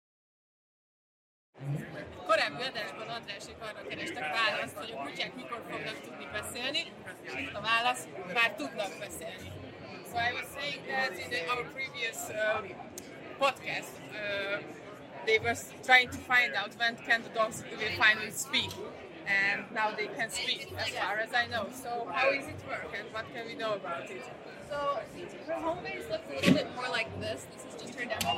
Korábbi adásban Andrásék arra kerestek választ, hogy a kutyák mikor fognak tudni beszélni. A válasz, már tudnak beszélni. So I was saying that in the, our previous uh, podcast, uh, they were trying to find out when can the dogs will finally speak. And now they can speak, as far as I know. So how is it work and what can we know about it? So her home base looks a little bit more like this. This is just her demo.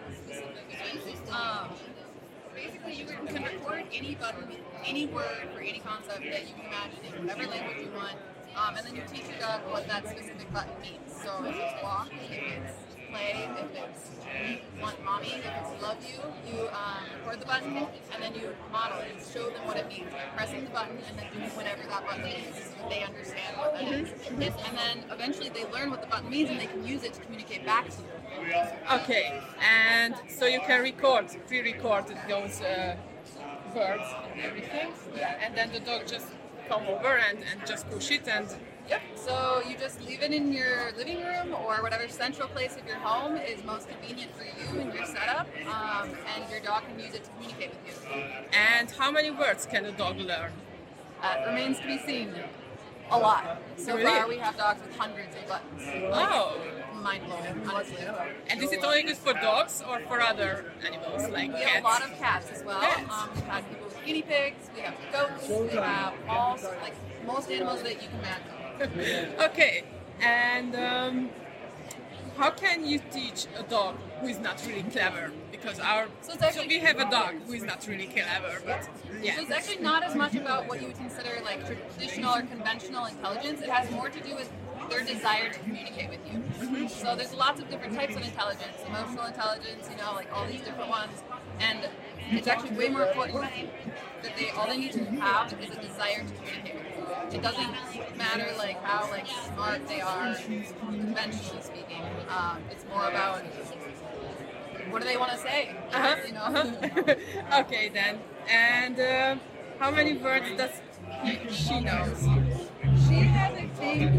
Um, basically, you can record any button, any word for any concept that you can imagine in whatever language you want. Um, and then you teach your dog what that specific button means. So if it's walk, if it's play, if it's want mommy, if it's love you, you um, record the button and then you model it and show them what it means by pressing the button and then doing whatever that button means so they understand what that is. And then eventually they learn what the button means and they can use it to communicate back to you. Okay, and so you can record, pre-record those uh, words and everything, and then the dog just come over and, and just push it and... Yep, so you just leave it in your living room or whatever central place of your home is most convenient for you and your setup, um, and your dog can use it to communicate with you. And how many words can a dog learn? Uh, remains to be seen. A lot. So Really? far we have dogs with hundreds of buttons. Oh! Mind-blowing, honestly. And is it only good for dogs or for other animals like We cats? have a lot of cats as well. Cats. Um, we've had people with guinea pigs, we have goats, we have all, like, most animals that you can imagine. Okay, and um, how can you teach a dog who is not really clever? Because our So it's actually- so we have a dog who is not really clever, but yeah. So it's actually not as much about what you would consider like traditional or conventional intelligence. It has more to do with their desire to communicate with you. So there's lots of different types of intelligence, emotional intelligence, you know, like all these different ones. And it's actually way more important that they all they need to have is a desire to communicate with you. It doesn't matter like how like smart they are, conventionally speaking. Um, it's more about what do they want to say, Uh-huh. you know. Uh-huh. Okay then, and uh, how many words does he, she knows? She has, I think,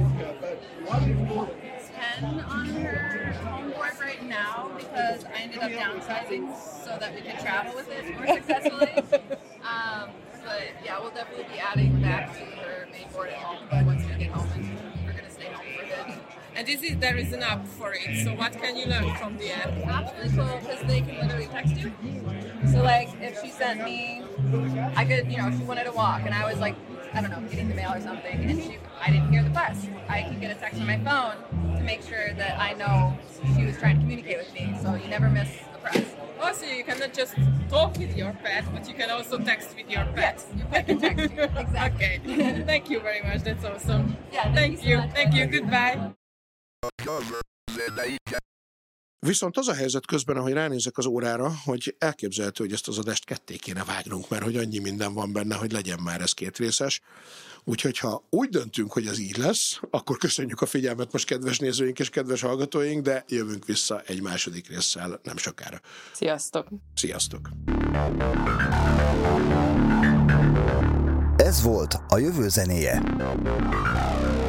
ten on her home board right now because I ended up downsizing so that we could travel with it more successfully. um, but yeah, we'll definitely be adding back to her main board at home once we get home, and we're gonna stay home for a bit. And this is there is an app for it. So what can you learn from the app? That's really cool because they can literally text you. So like, if she sent me, I could, you know, she wanted to walk, and I was like, I don't know, getting the mail or something, and she, I didn't hear the press. I can get a text on my phone to make sure that I know she was trying to communicate with me. So you never miss the press. Also, you cannot just talk with your pet, but you can also text with your pet. Yes, your pet can text you. Exactly. Okay. Thank you very much. That's awesome. Yeah, thank Thank you so you. much. Thank you. Goodbye. Viszont az a helyzet közben, ahogy ránézek az órára, hogy elképzelhető, hogy ezt az adást ketté kéne vágnunk, mert hogy annyi minden van benne, hogy legyen már ez két részes. Úgyhogy ha úgy döntünk, hogy ez így lesz, akkor köszönjük a figyelmet most, kedves nézőink és kedves hallgatóink, de jövünk vissza egy második résszel nem sokára. Sziasztok! Sziasztok! Ez volt a jövő zenéje.